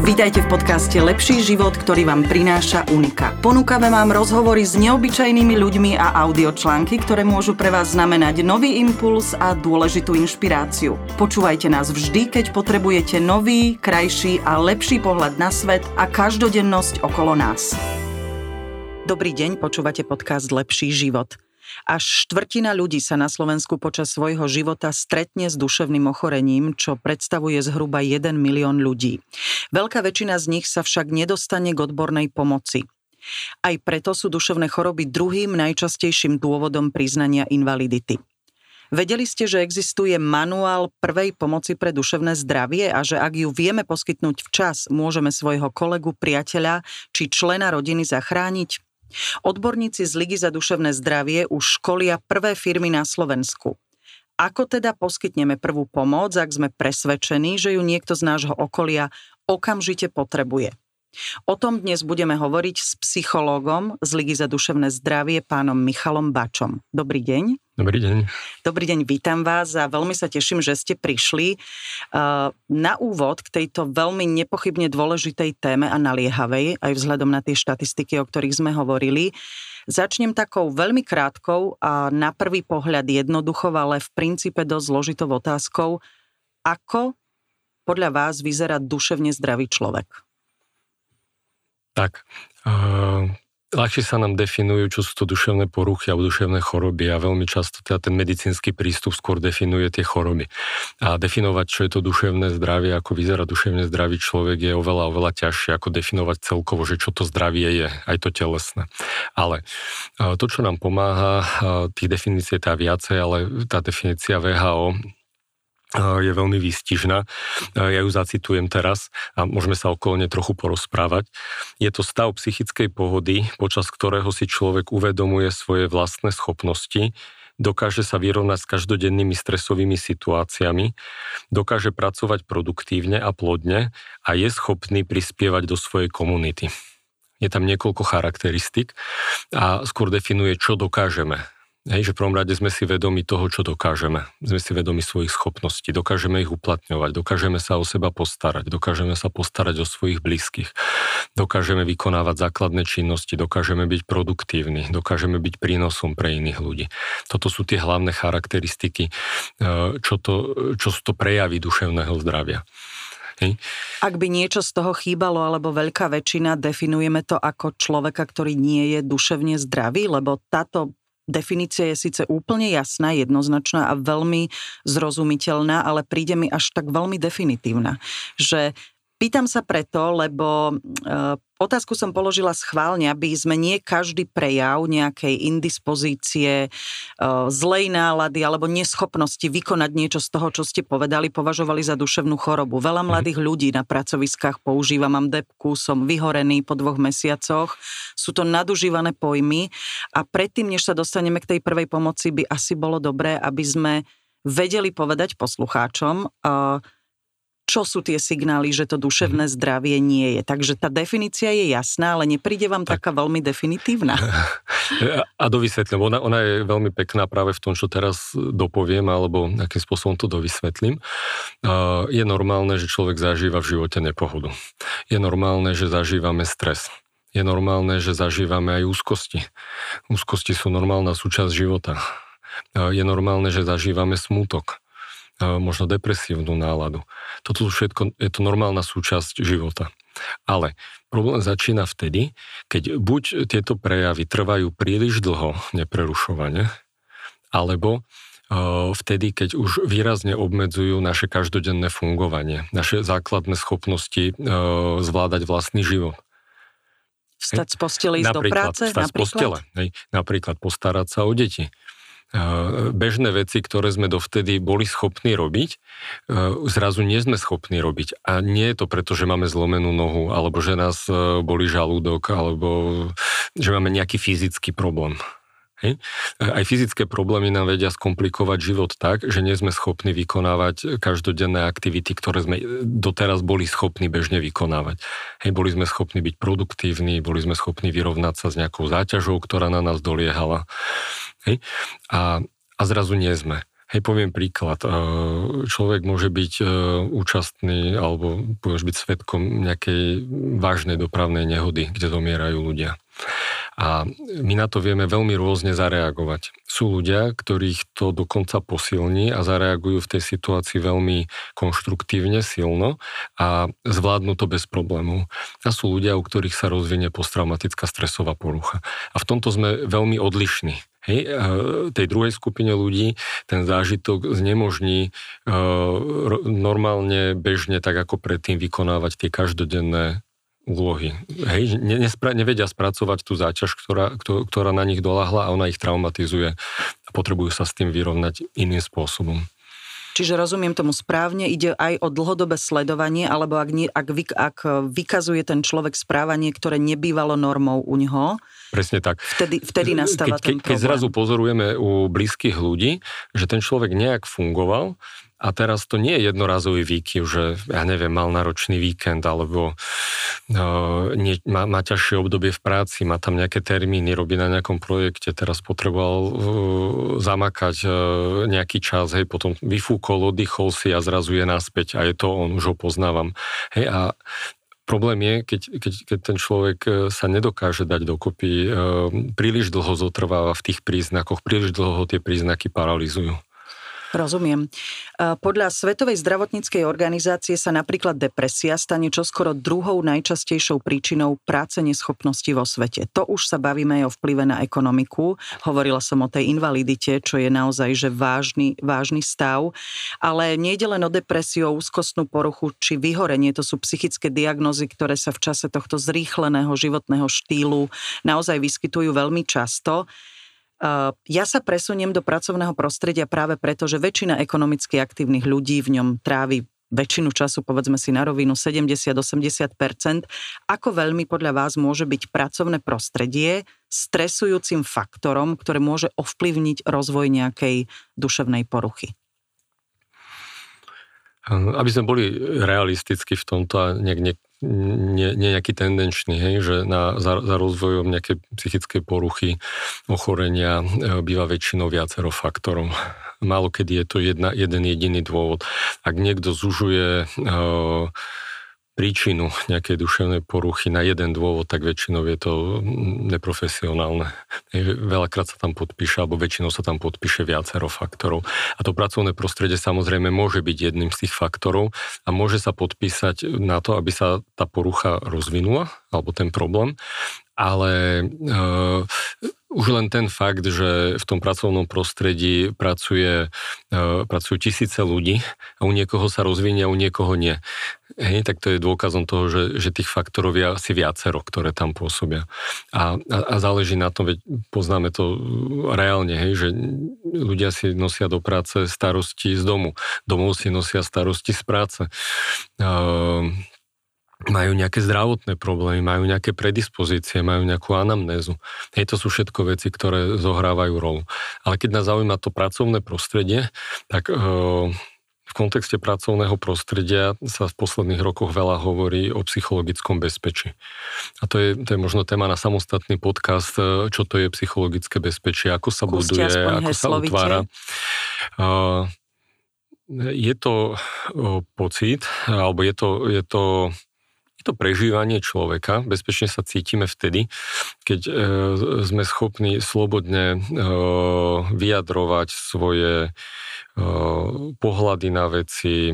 Vítajte v podcaste Lepší život, ktorý vám prináša Unika. Ponúkame vám rozhovory s neobyčajnými ľuďmi a audiočlánky, ktoré môžu pre vás znamenať nový impuls a dôležitú inšpiráciu. Počúvajte nás vždy, keď potrebujete nový, krajší a lepší pohľad na svet a každodennosť okolo nás. Dobrý deň, počúvate podcast Lepší život. Až štvrtina ľudí sa na Slovensku počas svojho života stretne s duševným ochorením, čo predstavuje zhruba 1 milión ľudí. Veľká väčšina z nich sa však nedostane k odbornej pomoci. Aj preto sú duševné choroby druhým najčastejším dôvodom priznania invalidity. Vedeli ste, že existuje manuál prvej pomoci pre duševné zdravie a že ak ju vieme poskytnúť včas, môžeme svojho kolegu, priateľa či člena rodiny zachrániť? Odborníci z Ligy za duševné zdravie už školia prvé firmy na Slovensku. Ako teda poskytneme prvú pomoc, ak sme presvedčení, že ju niekto z nášho okolia okamžite potrebuje? O tom dnes budeme hovoriť s psychológom z Ligy za duševné zdravie, pánom Michalom Bačom. Dobrý deň. Dobrý deň. Dobrý deň, vítam vás a veľmi sa teším, že ste prišli. Na úvod k tejto veľmi nepochybne dôležitej téme a naliehavej, aj vzhľadom na tie štatistiky, o ktorých sme hovorili, začnem takou veľmi krátkou a na prvý pohľad jednoduchou, ale v princípe dosť zložitou otázkou. Ako podľa vás vyzerá duševne zdravý človek? Tak, ľahšie sa nám definujú, čo sú to duševné poruchy alebo duševné choroby a veľmi často teda ten medicínsky prístup skôr definuje tie choroby. A definovať, čo je to duševné zdravie, ako vyzerá duševne zdravý človek, je oveľa ťažšie, ako definovať celkovo, že čo to zdravie je, aj to telesné. Ale to, čo nám pomáha, tých definícií je tá viacej, ale tá definícia VHO je veľmi výstižná. Ja ju zacitujem teraz a môžeme sa okolo nej trochu porozprávať. Je to stav psychickej pohody, počas ktorého si človek uvedomuje svoje vlastné schopnosti, dokáže sa vyrovnať s každodennými stresovými situáciami, dokáže pracovať produktívne a plodne a je schopný prispievať do svojej komunity. Je tam niekoľko charakteristík a skôr definuje, čo dokážeme. Hej, že v prvom rade sme si vedomi toho, čo dokážeme. Sme si vedomi svojich schopností, dokážeme ich uplatňovať, dokážeme sa o seba postarať, dokážeme sa postarať o svojich blízkych, dokážeme vykonávať základné činnosti, dokážeme byť produktívni, dokážeme byť prínosom pre iných ľudí. Toto sú tie hlavné charakteristiky, čo sú to prejavy duševného zdravia. Hej. Ak by niečo z toho chýbalo, alebo veľká väčšina, definujeme to ako človeka, ktorý nie je duševne zdravý, lebo táto definícia je síce úplne jasná, jednoznačná a veľmi zrozumiteľná, ale príde mi až tak veľmi definitívna. Že pýtam sa preto, lebo otázku som položila schválne, aby sme nie každý prejav nejakej indispozície, zlej nálady alebo neschopnosti vykonať niečo z toho, čo ste povedali, považovali za duševnú chorobu. Veľa mladých ľudí na pracoviskách používa, mám depku, som vyhorený po 2 mesiacoch. Sú to nadužívané pojmy a predtým, než sa dostaneme k tej prvej pomoci, by asi bolo dobré, aby sme vedeli povedať poslucháčom, čo sú tie signály, že to duševné zdravie nie je. Takže tá definícia je jasná, ale nepríde vám taká veľmi definitívna? A dovysvetlím. Ona je veľmi pekná práve v tom, čo teraz dopoviem, alebo akým spôsobom to dovysvetlím. Je normálne, že človek zažíva v živote nepohodu. Je normálne, že zažívame stres. Je normálne, že zažívame aj úzkosti. Úzkosti sú normálna súčasť života. Je normálne, že zažívame smútok. Možno depresívnu náladu. Toto všetko je to normálna súčasť života. Ale problém začína vtedy, keď buď tieto prejavy trvajú príliš dlho, neprerušovane, alebo vtedy, keď už výrazne obmedzujú naše každodenné fungovanie, naše základné schopnosti zvládať vlastný život. Vstať z postele, ísť do práce? Vstať z postele. Napríklad postarať sa o deti. Bežné veci, ktoré sme dovtedy boli schopní robiť, zrazu nie sme schopní robiť. A nie je to preto, že máme zlomenú nohu, alebo že nás bolí žalúdok, alebo že máme nejaký fyzický problém. Hej. Aj fyzické problémy nám vedia skomplikovať život tak, že nie sme schopní vykonávať každodenné aktivity, ktoré sme doteraz boli schopní bežne vykonávať. Hej, boli sme schopní byť produktívni, boli sme schopní vyrovnať sa s nejakou záťažou, ktorá na nás doliehala. Hej. A zrazu nie sme. Hej, poviem príklad. Človek môže byť účastný alebo môže byť svedkom nejakej vážnej dopravnej nehody, kde zomierajú ľudia. A my na to vieme veľmi rôzne zareagovať. Sú ľudia, ktorých to dokonca posilní a zareagujú v tej situácii veľmi konštruktívne, silno a zvládnu to bez problémov. A sú ľudia, u ktorých sa rozvinie posttraumatická stresová porucha. A v tomto sme veľmi odlišní. Hej, tej druhej skupine ľudí ten zážitok znemožní normálne, bežne, tak ako predtým vykonávať tie každodenné úlohy. Hej, nevedia spracovať tú záťaž, ktorá na nich doľahla a ona ich traumatizuje a potrebujú sa s tým vyrovnať iným spôsobom. Čiže rozumiem tomu správne, ide aj o dlhodobé sledovanie, alebo ak vykazuje ten človek správanie, ktoré nebývalo normou u ňoho, presne tak. Vtedy nastáva ten problém. Keď zrazu pozorujeme u blízkych ľudí, že ten človek nejak fungoval, a teraz to nie je jednorazový výkyv, že ja neviem, mal náročný víkend, alebo má ťažšie obdobie v práci, má tam nejaké termíny, robí na nejakom projekte, teraz potreboval zamakať nejaký čas, hej, potom vyfúkol, oddychol si a zrazu je naspäť a je to on, už ho poznávam. Hej, a problém je, keď ten človek sa nedokáže dať dokopy, príliš dlho zotrváva v tých príznakoch, príliš dlho ho tie príznaky paralizujú. Rozumiem. Podľa Svetovej zdravotníckej organizácie sa napríklad depresia stane čoskoro druhou najčastejšou príčinou práce neschopnosti vo svete. To už sa bavíme aj o vplyve na ekonomiku. Hovorila som o tej invalidite, čo je naozaj že vážny stav. Ale nejde len o depresiu, o úzkostnú poruchu či vyhorenie. To sú psychické diagnózy, ktoré sa v čase tohto zrýchleného životného štýlu naozaj vyskytujú veľmi často. Ja sa presuniem do pracovného prostredia práve preto, že väčšina ekonomicky aktívnych ľudí v ňom trávi väčšinu času, povedzme si na rovinu, 70-80%. Ako veľmi podľa vás môže byť pracovné prostredie stresujúcim faktorom, ktoré môže ovplyvniť rozvoj nejakej duševnej poruchy? Aby sme boli realisticky v tomto a nejaký tendenčný, hej, že za rozvojom nejaké psychické poruchy, ochorenia býva väčšinou viacero faktorov. Málo kedy je to jeden jediný dôvod. Ak niekto zužuje príčinu nejakej duševnej poruchy na jeden dôvod, tak väčšinou je to neprofesionálne. Veľakrát sa tam podpíše, alebo väčšinou sa tam podpíše viacero faktorov. A to pracovné prostredie samozrejme môže byť jedným z tých faktorov a môže sa podpísať na to, aby sa tá porucha rozvinula, alebo ten problém. Ale už len ten fakt, že v tom pracovnom prostredí pracujú tisíce ľudí a u niekoho sa rozvinie a u niekoho nie. Hej, tak to je dôkazom toho, že tých faktorov je asi viacero, ktoré tam pôsobia. A záleží na tom, veď poznáme to reálne, hej, že ľudia si nosia do práce starosti z domu. Domov si nosia starosti z práce. Majú nejaké zdravotné problémy, majú nejaké predispozície, majú nejakú anamnézu. Hej, to sú všetko veci, ktoré zohrávajú rolu. Ale keď nás zaujíma to pracovné prostredie, tak v kontexte pracovného prostredia sa v posledných rokoch veľa hovorí o psychologickom bezpečí. A to je možno téma na samostatný podcast, čo to je psychologické bezpečie, ako sa buduje, ako sa utvára. Je to pocit, alebo je to prežívanie človeka. Bezpečne sa cítime vtedy, keď sme schopní slobodne vyjadrovať svoje pohľady na veci,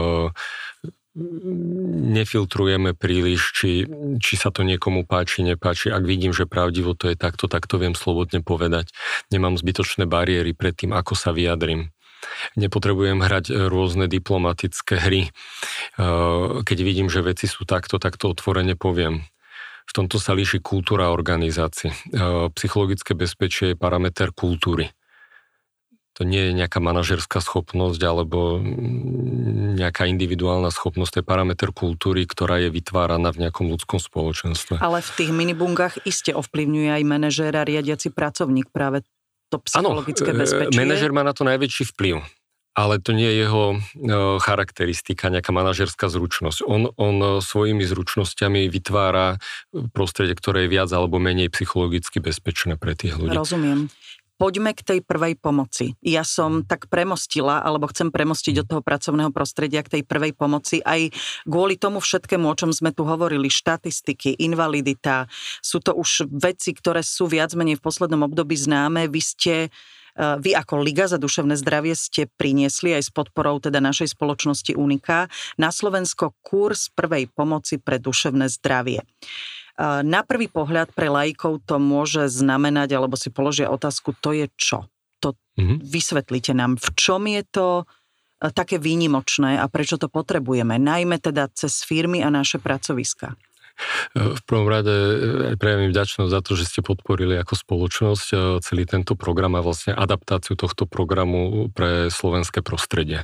nefiltrujeme príliš, či sa to niekomu páči, nepáči. Ak vidím, že pravdivo to je takto, tak to viem slobodne povedať. Nemám zbytočné bariéry pred tým, ako sa vyjadrím. Nepotrebujem hrať rôzne diplomatické hry. Keď vidím, že veci sú takto, tak to otvorene poviem. V tomto sa líši kultúra organizácií. Psychologické bezpečie je parameter kultúry. To nie je nejaká manažerská schopnosť alebo nejaká individuálna schopnosť, to je parameter kultúry, ktorá je vytváraná v nejakom ľudskom spoločenstve. Ale v tých minibungách iste ovplyvňuje aj manažér a riadiaci pracovník práve to psychologické bezpečie. Manažer má na to najväčší vplyv, ale to nie je jeho charakteristika, nejaká manažerská zručnosť. On svojimi zručnosťami vytvára prostredie, ktoré je viac alebo menej psychologicky bezpečné pre tých ľudí. Rozumiem. Poďme k tej prvej pomoci. Ja som tak premostila, alebo chcem premostiť od toho pracovného prostredia k tej prvej pomoci aj kvôli tomu všetkému, o čom sme tu hovorili, štatistiky, invalidita. Sú to už veci, ktoré sú viac menej v poslednom období známe. Vy ako Liga za duševné zdravie ste priniesli aj s podporou teda našej spoločnosti Unika na Slovensko kurz prvej pomoci pre duševné zdravie. Na prvý pohľad pre laikov to môže znamenať, alebo si položia otázku, to je čo? Vysvetlite nám, v čom je to také výnimočné a prečo to potrebujeme, najmä teda cez firmy a naše pracoviská. V prvom rade prejavím vďačnosť za to, že ste podporili ako spoločnosť celý tento program a vlastne adaptáciu tohto programu pre slovenské prostredie.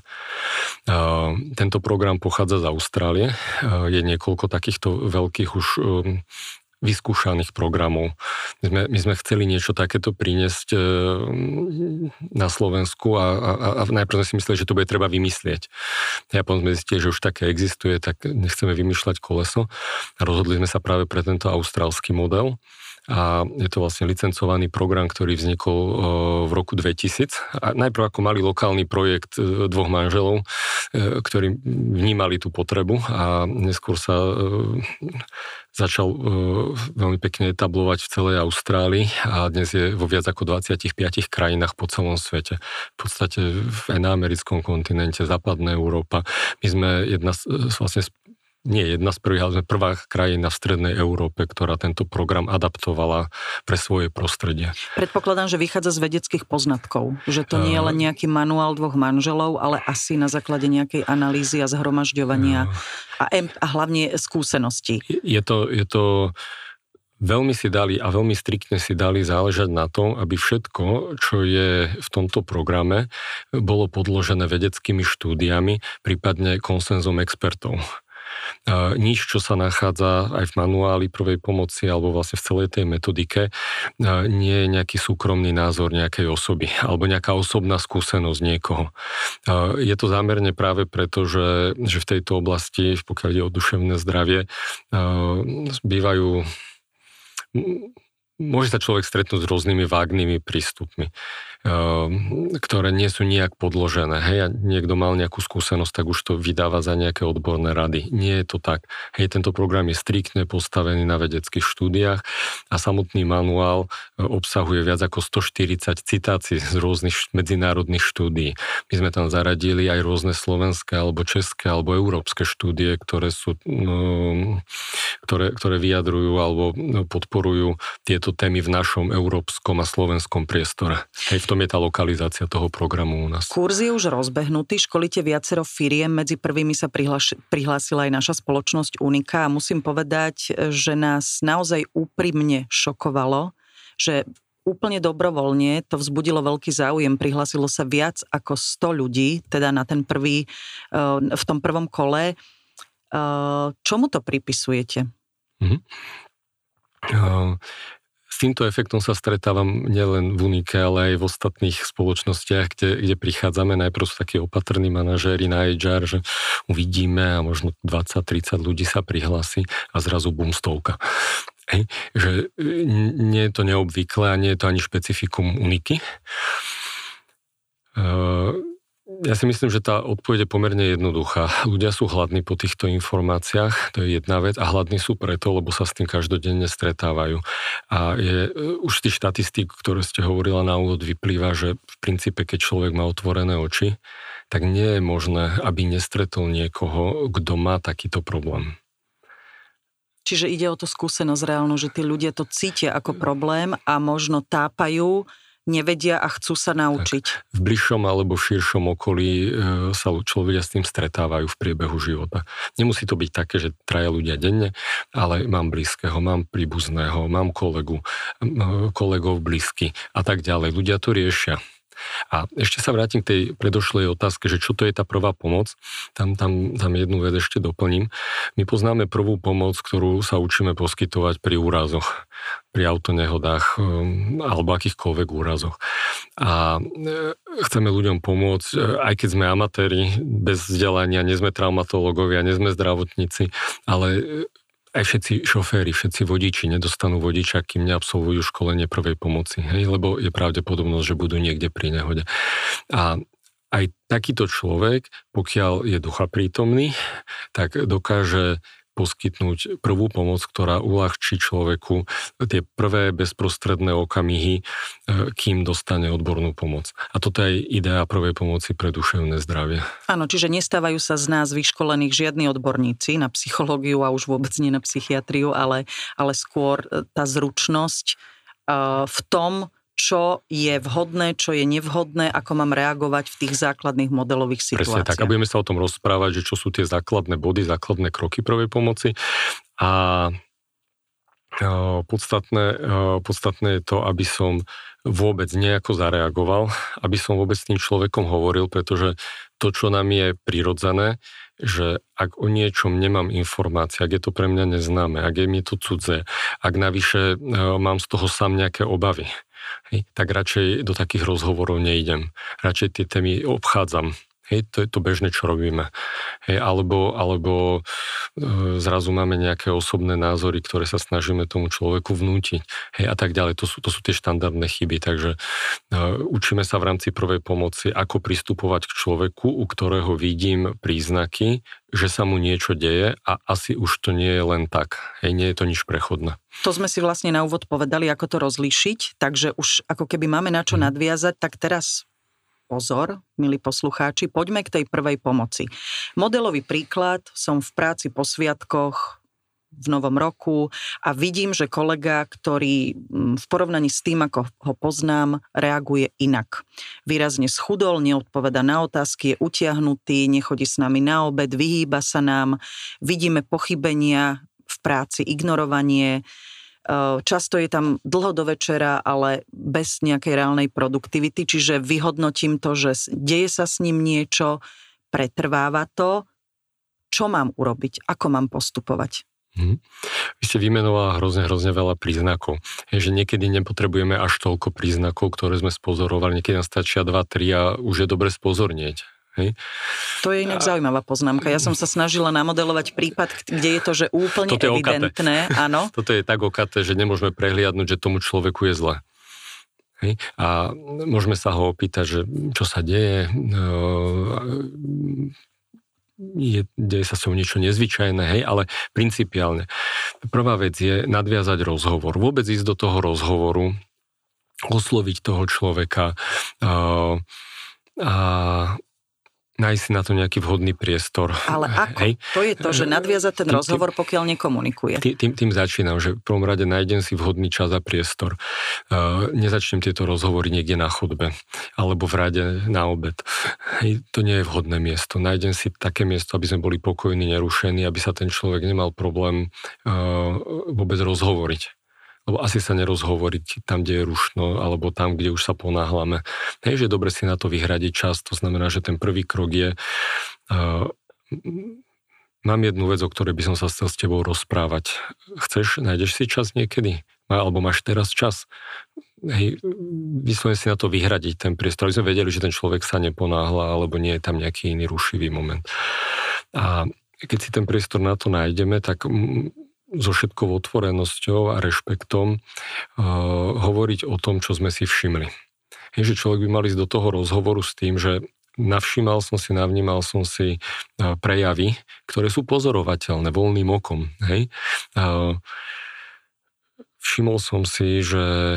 Tento program pochádza z Austrálie. Je niekoľko takýchto veľkých už vyskúšaných programov. My sme chceli niečo takéto priniesť na Slovensku a najprv sme si mysleli, že to bude treba vymyslieť. A potom sme zistili, že už také existuje, tak nechceme vymýšľať koleso. A rozhodli sme sa práve pre tento austrálsky model. A je to vlastne licencovaný program, ktorý vznikol v roku 2000. A najprv ako malý lokálny projekt dvoch manželov, ktorí vnímali tú potrebu a neskôr sa začal veľmi pekne etablovať v celej Austrálii a dnes je vo viac ako 25 krajinách po celom svete. V podstate na americkom kontinente, západná Európa. My sme jedna z prvých, ale sme prvá krajina v strednej Európe, ktorá tento program adaptovala pre svoje prostredie. Predpokladám, že vychádza z vedeckých poznatkov, že to nie je len nejaký manuál dvoch manželov, ale asi na základe nejakej analýzy a zhromažďovania a hlavne skúseností. Je to veľmi si dali a veľmi striktne si dali záležať na tom, aby všetko, čo je v tomto programe, bolo podložené vedeckými štúdiami, prípadne konsenzom expertov. Nič, čo sa nachádza aj v manuáli prvej pomoci alebo vlastne v celej tej metodike, nie je nejaký súkromný názor nejakej osoby alebo nejaká osobná skúsenosť niekoho. Je to zámerne práve preto, že v tejto oblasti, pokiaľ ide o duševné zdravie, môže sa človek stretnúť s rôznymi vágnymi prístupmi, ktoré nie sú nijak podložené. Hej, a niekto mal nejakú skúsenosť, tak už to vydáva za nejaké odborné rady. Nie je to tak. Hej, tento program je striktne postavený na vedeckých štúdiách a samotný manuál obsahuje viac ako 140 citácií z rôznych medzinárodných štúdií. My sme tam zaradili aj rôzne slovenské, alebo české, alebo európske štúdie, ktoré vyjadrujú alebo podporujú tieto témy v našom európskom a slovenskom priestore. Hej, v tom je tá lokalizácia toho programu u nás. Kurz je už rozbehnutý, školíte viacero firiem, medzi prvými sa prihlásila aj naša spoločnosť Unika a musím povedať, že nás naozaj úprimne šokovalo, že úplne dobrovoľne to vzbudilo veľký záujem. Prihlásilo sa viac ako 100 ľudí, teda na ten v tom prvom kole. Čomu to pripisujete? S týmto efektom sa stretávam nielen v Unike, ale aj v ostatných spoločnostiach, kde prichádzame. Najprv sú takí opatrní manažéri na HR, že uvidíme a možno 20-30 ľudí sa prihlási a zrazu bum, 100. Že nie je to neobvyklé a nie je to ani špecifikum Uniky. Ja si myslím, že tá odpoveď je pomerne jednoduchá. Ľudia sú hladní po týchto informáciách, to je jedna vec, a hladní sú preto, lebo sa s tým každodenne stretávajú. A už z tých štatistík, ktoré ste hovorila na úvod, vyplýva, že v princípe, keď človek má otvorené oči, tak nie je možné, aby nestretol niekoho, kto má takýto problém. Čiže ide o tú skúsenosť reálnu, že tí ľudia to cítia ako problém a možno tápajú, nevedia a chcú sa naučiť. Tak, v bližšom alebo širšom okolí sa ľudia s tým stretávajú v priebehu života. Nemusí to byť také, že 3 ľudia denne, ale mám blízkeho, mám príbuzného, mám kolegov blízky a tak ďalej. Ľudia to riešia. A ešte sa vrátim k tej predošlej otázke, že čo to je tá prvá pomoc. Tam jednu vec ešte doplním. My poznáme prvú pomoc, ktorú sa učíme poskytovať pri úrazoch, pri autonehodách alebo akýchkoľvek úrazoch. A chceme ľuďom pomôcť, aj keď sme amatéri, bez vzdelania, nie sme traumatológovia, nie sme zdravotníci, ale aj všetci šoféri, všetci vodiči nedostanú vodiča, kým neabsolvujú školenie prvej pomoci, hej, lebo je pravdepodobnosť, že budú niekde pri nehode. A aj takýto človek, pokiaľ je duchaprítomný, tak dokáže poskytnúť prvú pomoc, ktorá uľahčí človeku tie prvé bezprostredné okamihy, kým dostane odbornú pomoc. A toto je idea prvej pomoci pre duševné zdravie. Áno, čiže nestávajú sa z nás vyškolených žiadni odborníci na psychológiu a už vôbec nie na psychiatriu, ale skôr tá zručnosť v tom, čo je vhodné, čo je nevhodné, ako mám reagovať v tých základných modelových situáciách. Presne tak, a budeme sa o tom rozprávať, že čo sú tie základné body, základné kroky prvej pomoci a podstatné je to, aby som vôbec nejako zareagoval, aby som vôbec s tým človekom hovoril, pretože to, čo nám je prirodzené, že ak o niečom nemám informácie, ak je to pre mňa neznáme, ak je mi to cudzé, ak navyše mám z toho sám nejaké obavy, hej, tak radšej do takých rozhovorov neidem. Radšej tie témy obchádzam. Hej, to je to bežné, čo robíme. Hej, alebo zrazu máme nejaké osobné názory, ktoré sa snažíme tomu človeku vnútiť. Hej, a tak ďalej. To sú tie štandardné chyby. Takže učíme sa v rámci prvej pomoci, ako pristupovať k človeku, u ktorého vidím príznaky, že sa mu niečo deje a asi už to nie je len tak. Hej, nie je to nič prechodné. To sme si vlastne na úvod povedali, ako to rozlíšiť, takže už ako keby máme na čo nadviazať, tak teraz pozor, milí poslucháči, poďme k tej prvej pomoci. Modelový príklad, som v práci po sviatkoch v novom roku a vidím, že kolega, ktorý v porovnaní s tým, ako ho poznám, reaguje inak. Výrazne schudol, neodpoveda na otázky, je utiahnutý, nechodí s nami na obed, vyhýba sa nám, vidíme pochybenia v práci, ignorovanie. Často je tam dlho do večera, ale bez nejakej reálnej produktivity, čiže vyhodnotím to, že deje sa s ním niečo, pretrváva to. Čo mám urobiť? Ako mám postupovať? Vy ste vymenovala hrozne veľa príznakov. Je, že niekedy nepotrebujeme až toľko príznakov, ktoré sme spozorovali. Niekedy nám stačia 2-3 a už je dobre spozornieť. Hej. To je inak zaujímavá poznámka. Ja som sa snažila namodelovať prípad, kde je to, že úplne toto je evidentné. Áno. Toto je tak okaté, že nemôžeme prehliadnúť, že tomu človeku je zle. Hej. A môžeme sa ho opýtať, že čo sa deje, deje sa s ňou niečo nezvyčajné, hej, ale principiálne. Prvá vec je nadviazať rozhovor. Vôbec ísť do toho rozhovoru, osloviť toho človeka a nájsť si na to nejaký vhodný priestor. Ale ako? Hej. To je to, že nadviazať ten rozhovor, pokiaľ nekomunikuje. Tým začínam, že v prvom rade nájdem si vhodný čas a priestor. Nezačnem tieto rozhovory niekde na chodbe alebo v rade na obed. Hej, to nie je vhodné miesto. Nájdem si také miesto, aby sme boli pokojní, nerušení, aby sa ten človek nemal problém vôbec rozhovoriť. Lebo asi sa nerozhovoriť tam, kde je rušno, alebo tam, kde už sa ponáhľame. Hej, že je dobre si na to vyhradiť čas, to znamená, že ten prvý krok je mám jednu vec, o ktorej by som sa chcel s tebou rozprávať. Chceš, nájdeš si čas niekedy? Alebo máš teraz čas? Hej, vyslovene si na to vyhradiť ten priestor, aby sme vedeli, že ten človek sa neponáhľa, alebo nie je tam nejaký iný rušivý moment. A keď si ten priestor na to nájdeme, tak so všetkou otvorenosťou a rešpektom hovoriť o tom, čo sme si všimli. Je, že človek by mal ísť do toho rozhovoru s tým, že navnímal som si prejavy, ktoré sú pozorovateľné voľným okom. Hej? Všimol som si, že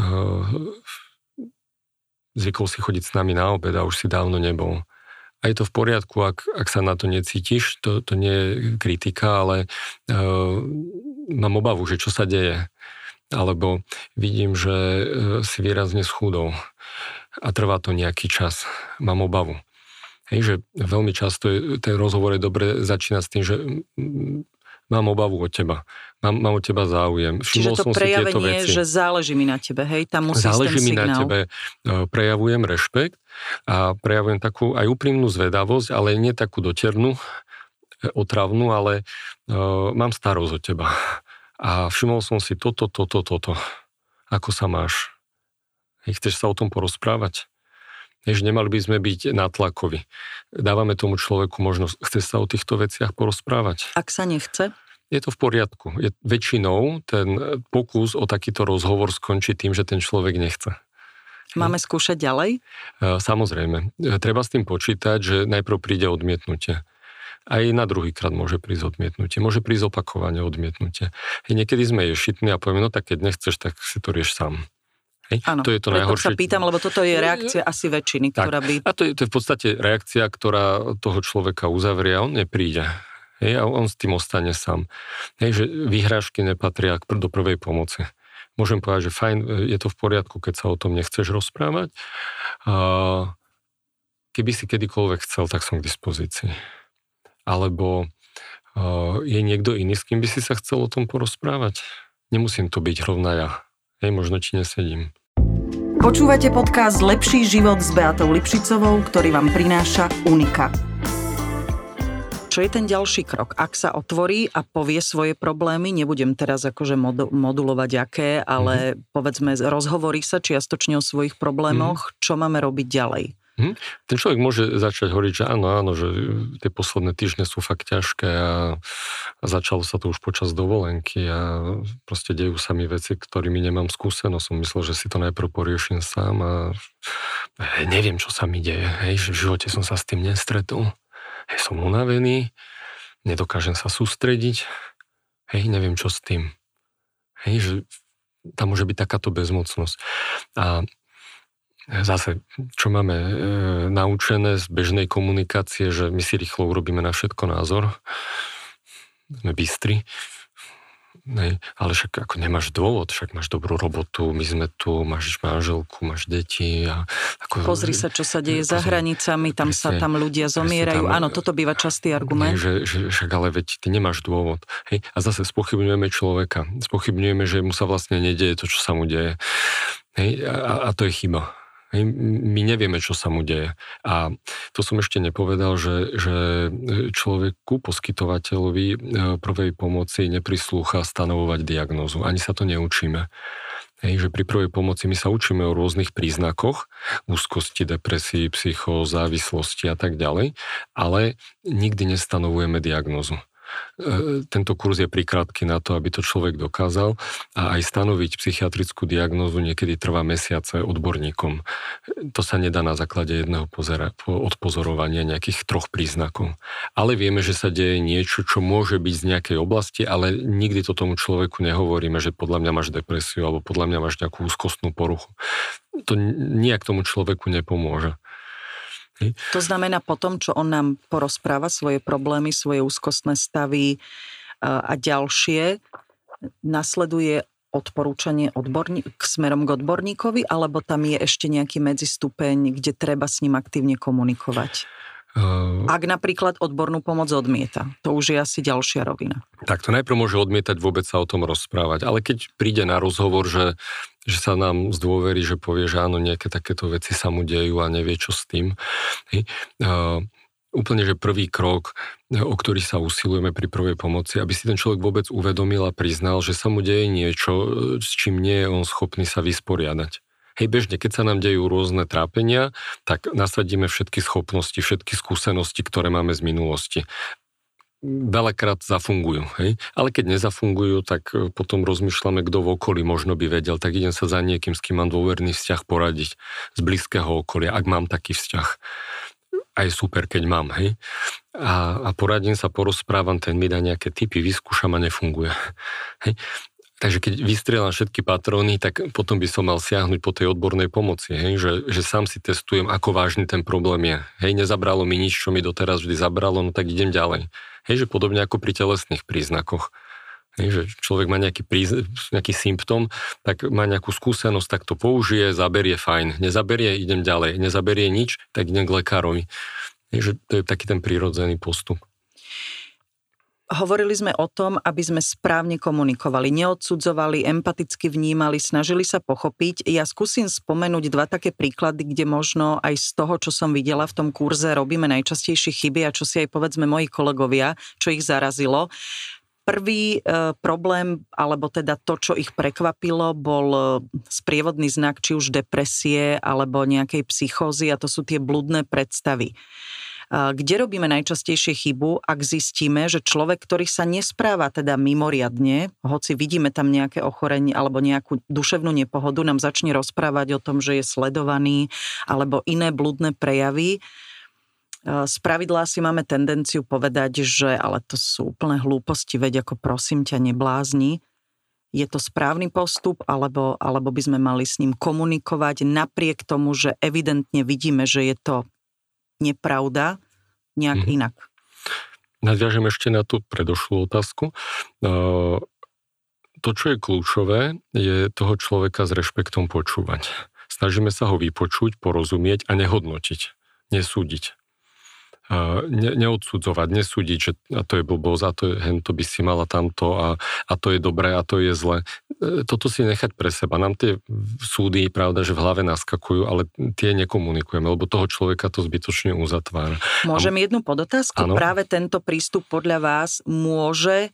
zvykol si chodiť s nami na obed a už si dávno nebol. A je to v poriadku, ak sa na to necítiš, to nie je kritika, ale mám obavu, že čo sa deje. Alebo vidím, že si výrazne schudol a trvá to nejaký čas. Mám obavu. Hej, že veľmi často ten rozhovor je dobre začínať s tým, že mám obavu od teba. Mám od teba záujem. Čiže to prejavenie je, že záleží mi na tebe, hej? Tam musí záleží ten mi signál. Na tebe. Prejavujem rešpekt a prejavujem takú aj úprimnú zvedavosť, ale nie takú doternú, otravnú, ale mám starosť od teba. A všimol som si toto. Ako sa máš? Hej, chceš sa o tom porozprávať? Hej, že nemali by sme byť nátlakoví. Dávame tomu človeku možnosť, chce sa o týchto veciach porozprávať. Ak sa nechce? je to v poriadku. Väčšinou ten pokus o takýto rozhovor skončí tým, že ten človek nechce. Máme skúšať ďalej? Samozrejme. Treba s tým počítať, že najprv príde odmietnutie. Aj na druhýkrát môže prísť odmietnutie. Môže prísť opakovanie odmietnutie. Niekedy sme ješitní a povieme, no tak keď nechceš, tak si to rieš sám. Áno, to je to najhoršie. Sa pýtam, lebo toto je reakcia asi väčšiny, ktorá by... A to je v podstate reakcia, ktorá toho človeka uzavrie a on nepríde. A on s tým ostane sám. Že vyhrážky nepatria do prvej pomoci. Môžem povedať, že fajn, je to v poriadku, keď sa o tom nechceš rozprávať. Keby si kedykoľvek chcel, tak som k dispozícii. Alebo je niekto iný, s kým by si sa chcel o tom porozprávať? Nemusím to byť rovná ja. Možno ti nesedím. Počúvate podcast Lepší život s Beatou Lipšicovou, ktorý vám prináša Unika. Čo je ten ďalší krok? Ak sa otvorí a povie svoje problémy, nebudem teraz akože modulovať aké, ale povedzme, rozhovorí sa čiastočne o svojich problémoch, čo máme robiť ďalej? Ten človek môže začať hovoriť, že áno, že tie posledné týždne sú fakt ťažké a začalo sa to už počas dovolenky a proste dejú sa mi veci, ktorými nemám skúsenosť. Som myslel, že si to najprv poriešim sám a neviem, čo sa mi deje. Že v živote som sa s tým nestretol. Som unavený, nedokážem sa sústrediť, neviem, čo s tým. Že tam môže byť takáto bezmocnosť. A zase, čo máme naučené z bežnej komunikácie, že my si rýchlo urobíme na všetko názor. Sme bystri. Ale však ako nemáš dôvod, však máš dobrú robotu, my sme tu, máš manželku, máš deti. Pozri sa, čo sa deje za hranicami, tam ľudia zomierajú. Áno, toto býva častý argument. Že však ale veď ty nemáš dôvod. A zase spochybňujeme človeka. Spochybňujeme, že mu sa vlastne nedieje to, čo sa mu deje. A to je chyba. My nevieme, čo sa mu deje. A to som ešte nepovedal, že človeku, poskytovateľovi prvej pomoci neprislúcha stanovovať diagnózu. Ani sa to neučíme. Že pri prvej pomoci my sa učíme o rôznych príznakoch, úzkosti, depresii, psychóz, závislosti a tak ďalej, ale nikdy nestanovujeme diagnózu. Tento kurz je prikrátky na to, aby to človek dokázal a aj stanoviť psychiatrickú diagnózu niekedy trvá mesiace odborníkom. To sa nedá na základe jedného odpozorovania nejakých 3 príznakov. Ale vieme, že sa deje niečo, čo môže byť z nejakej oblasti, ale nikdy to tomu človeku nehovoríme, že podľa mňa máš depresiu alebo podľa mňa máš nejakú úzkostnú poruchu. To nijak tomu človeku nepomôže. To znamená potom, čo on nám porozpráva svoje problémy, svoje úzkostné stavy a ďalšie, nasleduje odporúčanie smerom k odborníkovi, alebo tam je ešte nejaký medzistupeň, kde treba s ním aktívne komunikovať? Ak napríklad odbornú pomoc odmieta, to už je asi ďalšia rovina. Tak to najprv môže odmietať vôbec sa o tom rozprávať, ale keď príde na rozhovor, že sa nám zdôverí, že povie, že áno, nejaké takéto veci sa mu dejú a nevie, čo s tým. Úplne, že prvý krok, o ktorý sa usilujeme pri prvej pomoci, aby si ten človek vôbec uvedomil a priznal, že sa mu deje niečo, s čím nie je on schopný sa vysporiadať. Bežne, keď sa nám dejú rôzne trápenia, tak nasadíme všetky schopnosti, všetky skúsenosti, ktoré máme z minulosti. Veľakrát zafungujú, ale keď nezafungujú, tak potom rozmýšľame, kto v okolí možno by vedel, tak idem sa za niekým, s kým mám dôverný vzťah poradiť z blízkeho okolia, ak mám taký vzťah. A je super, keď mám, A poradím sa, porozprávam, ten mi dá nejaké tipy, vyskúšam a nefunguje. Takže keď vystrieľam všetky patróny, tak potom by som mal siahnuť po tej odbornej pomoci, že sám si testujem, ako vážny ten problém je. Nezabralo mi nič, čo mi doteraz vždy zabralo, no tak idem ďalej. Že podobne ako pri telesných príznakoch. Že človek má nejaký symptóm, tak má nejakú skúsenosť, tak to použije, zaberie, fajn. Nezaberie, idem ďalej. Nezaberie nič, tak idem k lekárovi. Že to je taký ten prirodzený postup. Hovorili sme o tom, aby sme správne komunikovali, neodsudzovali, empaticky vnímali, snažili sa pochopiť. Ja skúsim spomenúť 2 také príklady, kde možno aj z toho, čo som videla v tom kurze, robíme najčastejšie chyby a čo si aj povedzme moji kolegovia, čo ich zarazilo. Prvý problém, alebo teda to, čo ich prekvapilo, bol sprievodný znak či už depresie alebo nejakej psychózy a to sú tie bludné predstavy. Kde robíme najčastejšie chybu, ak zistíme, že človek, ktorý sa nespráva teda mimoriadne, hoci vidíme tam nejaké ochorenie alebo nejakú duševnú nepohodu, nám začne rozprávať o tom, že je sledovaný alebo iné bludné prejavy. Spravidla si máme tendenciu povedať, že ale to sú úplne hlúposti, veď ako prosím ťa, neblázni. Je to správny postup, alebo by sme mali s ním komunikovať napriek tomu, že evidentne vidíme, že je to nepravda, nejak inak. Nadviažem ešte na tú predošlú otázku. To, čo je kľúčové, je toho človeka s rešpektom počúvať. Snažíme sa ho vypočuť, porozumieť a nehodnotiť, nesúdiť. Neodsudzovať, nesúdiť, že a to je blbosť, a to je hento by si mala tamto a to je dobré a to je zle. Toto si nechať pre seba. Nám tie súdy, pravda, že v hlave naskakujú, ale tie nekomunikujeme, lebo toho človeka to zbytočne uzatvára. Môžem jednu podotázku? Áno? Práve tento prístup podľa vás môže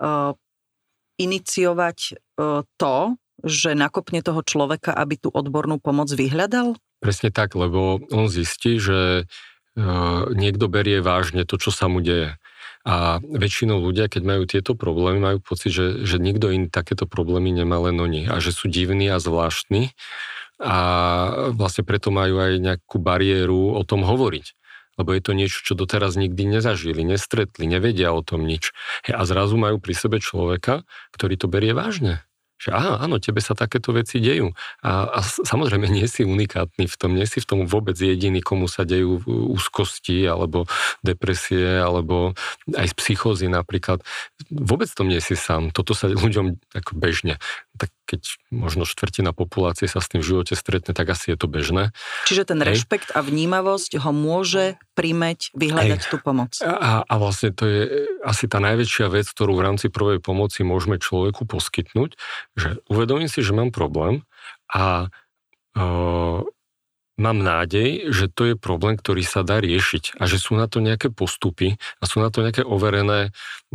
iniciovať to, že nakopne toho človeka, aby tú odbornú pomoc vyhľadal? Presne tak, lebo on zistí, že niekto berie vážne to, čo sa mu deje. A väčšinou ľudia, keď majú tieto problémy, majú pocit, že nikto iný takéto problémy nemá, len oni. A že sú divní a zvláštni. A vlastne preto majú aj nejakú bariéru o tom hovoriť. Lebo je to niečo, čo doteraz nikdy nezažili, nestretli, nevedia o tom nič. A zrazu majú pri sebe človeka, ktorý to berie vážne. Že áno, tebe sa takéto veci dejú. A samozrejme nie si unikátny v tom, nie si v tom vôbec jediný, komu sa dejú úzkosti, alebo depresie, alebo aj z psychózy napríklad. Vôbec tom nie si sám. Toto sa ľuďom ako bežne. Tak keď možno štvrtina populácie sa s tým v živote stretne, tak asi je to bežné. Čiže ten rešpekt a vnímavosť ho môže primäť, vyhľadať tú pomoc. A vlastne to je asi tá najväčšia vec, ktorú v rámci prvej pomoci môžeme človeku poskytnúť, že uvedomím si, že mám problém a mám nádej, že to je problém, ktorý sa dá riešiť a že sú na to nejaké postupy a sú na to nejaké overené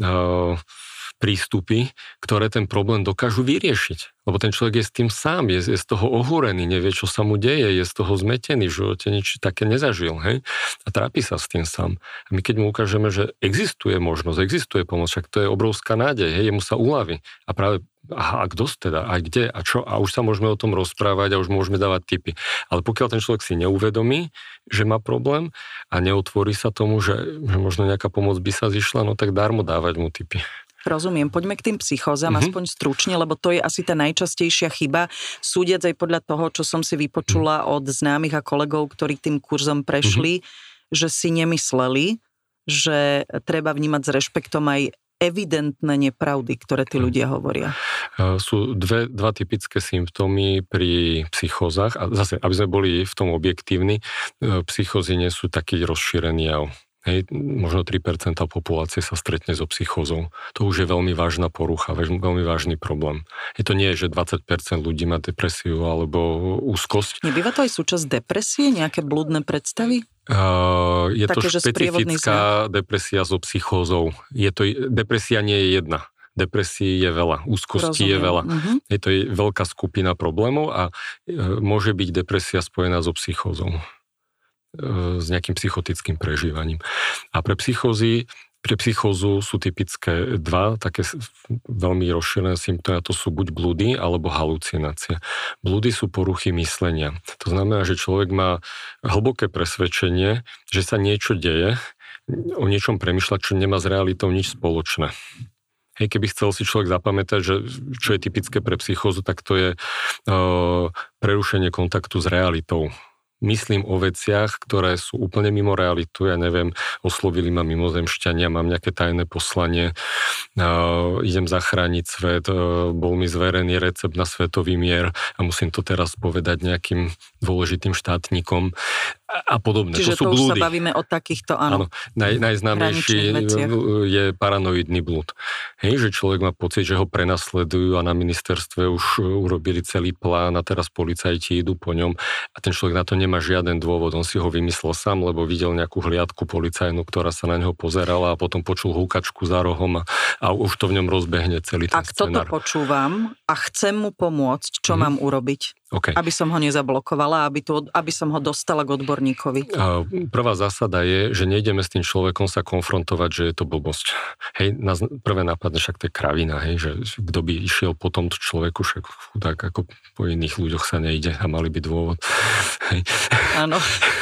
prístupy, ktoré ten problém dokážu vyriešiť. Lebo ten človek je s tým sám, je z toho ohúrený, nevie, čo sa mu deje, je z toho zmetený, v živote nič také nezažil, hej? A trápi sa s tým sám. A my keď mu ukážeme, že existuje možnosť, existuje pomoc, však to je obrovská nádej, hej, jemu sa uľaví. A práve, a kto teda, a kde, a čo, a už sa môžeme o tom rozprávať a už môžeme dávať tipy. Ale pokiaľ ten človek si neuvedomí, že má problém a neotvorí sa tomu, že možno nejaká pomoc by sa zišla, no tak darmo dávať mu tipy. Rozumiem. Poďme k tým psychózam, aspoň stručne, lebo to je asi tá najčastejšia chyba. Súdiac aj podľa toho, čo som si vypočula od známych a kolegov, ktorí tým kurzom prešli, že si nemysleli, že treba vnímať s rešpektom aj evidentné nepravdy, ktoré tí ľudia hovoria. Sú dva typické symptómy pri psychózach. A zase, aby sme boli v tom objektívni, psychózy nie sú taký rozšírený jav. Hej, možno 3% populácie sa stretne so psychózou. To už je veľmi vážna porucha, veľmi vážny problém. Je to nie, že 20% ľudí má depresiu alebo úzkosť. Nebýva to aj súčasť depresie, nejaké blúdne predstavy? Je také, to špecifická depresia so psychózou. Depresia nie je jedna. Depresí je veľa, úzkosti je veľa. Je to veľká skupina problémov a môže byť depresia spojená so psychózou, s nejakým psychotickým prežívaním. A pre psychózu sú typické dva také veľmi rozšírené symptómy, a to sú buď blúdy alebo halucinácie. Blúdy sú poruchy myslenia. To znamená, že človek má hlboké presvedčenie, že sa niečo deje, o niečom premýšľa, čo nemá s realitou nič spoločné. Hej, keby chcel si človek zapamätať, že čo je typické pre psychózu, tak to je prerušenie kontaktu s realitou. Myslím o veciach, ktoré sú úplne mimo realitu, ja neviem, oslovili ma mimozemšťania, mám nejaké tajné poslanie, idem zachrániť svet, bol mi zverený recept na svetový mier a musím to teraz povedať nejakým dôležitým štátnikom a podobne. Čiže to sú už blúdy. Sa bavíme o takýchto, áno. Najznámejší je paranoidný blúd. Hej, že človek má pocit, že ho prenasledujú a na ministerstve už urobili celý plán a teraz policajti idú po ňom a ten človek na to nemá žiaden dôvod. On si ho vymyslel sám, lebo videl nejakú hliadku policajnú, ktorá sa na neho pozerala a potom počul húkačku za rohom a a už to v ňom rozbehne celý ten scenár. Ak toto počúvam a chcem mu pomôcť, čo mám urobiť? Okay. Aby som ho nezablokovala, aby som ho dostala k odborníkovi. Prvá zásada je, že nejdeme s tým človekom sa konfrontovať, že je to blbosť. Hej, nás prvé napadne, však to je kravina, hej, že kto by išiel po tomto človeku, však tak ako po iných ľuďoch sa nejde a mali by dôvod. Hej. Áno.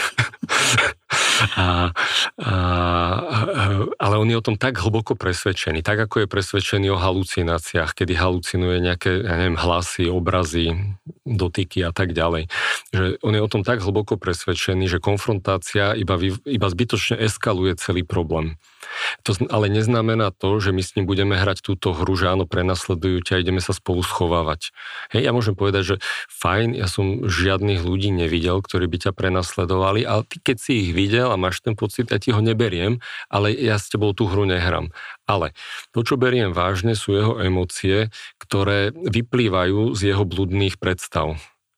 Ale on je o tom tak hlboko presvedčený, tak ako je presvedčený o halucináciách, kedy halucinuje nejaké, hlasy, obrazy, dotyky a tak ďalej. Že on je o tom tak hlboko presvedčený, že konfrontácia iba zbytočne eskaluje celý problém. To ale neznamená to, že my s ním budeme hrať túto hru, že áno, prenasledujú ťa a ideme sa spolu schovávať. Hej, ja môžem povedať, že fajn, ja som žiadnych ľudí nevidel, ktorí by ťa prenasledovali, ale ty, keď si ich videl a máš ten pocit, ja ti ho neberiem, ale ja s tebou tú hru nehrám. Ale to, čo beriem vážne, sú jeho emócie, ktoré vyplývajú z jeho bludných predstav.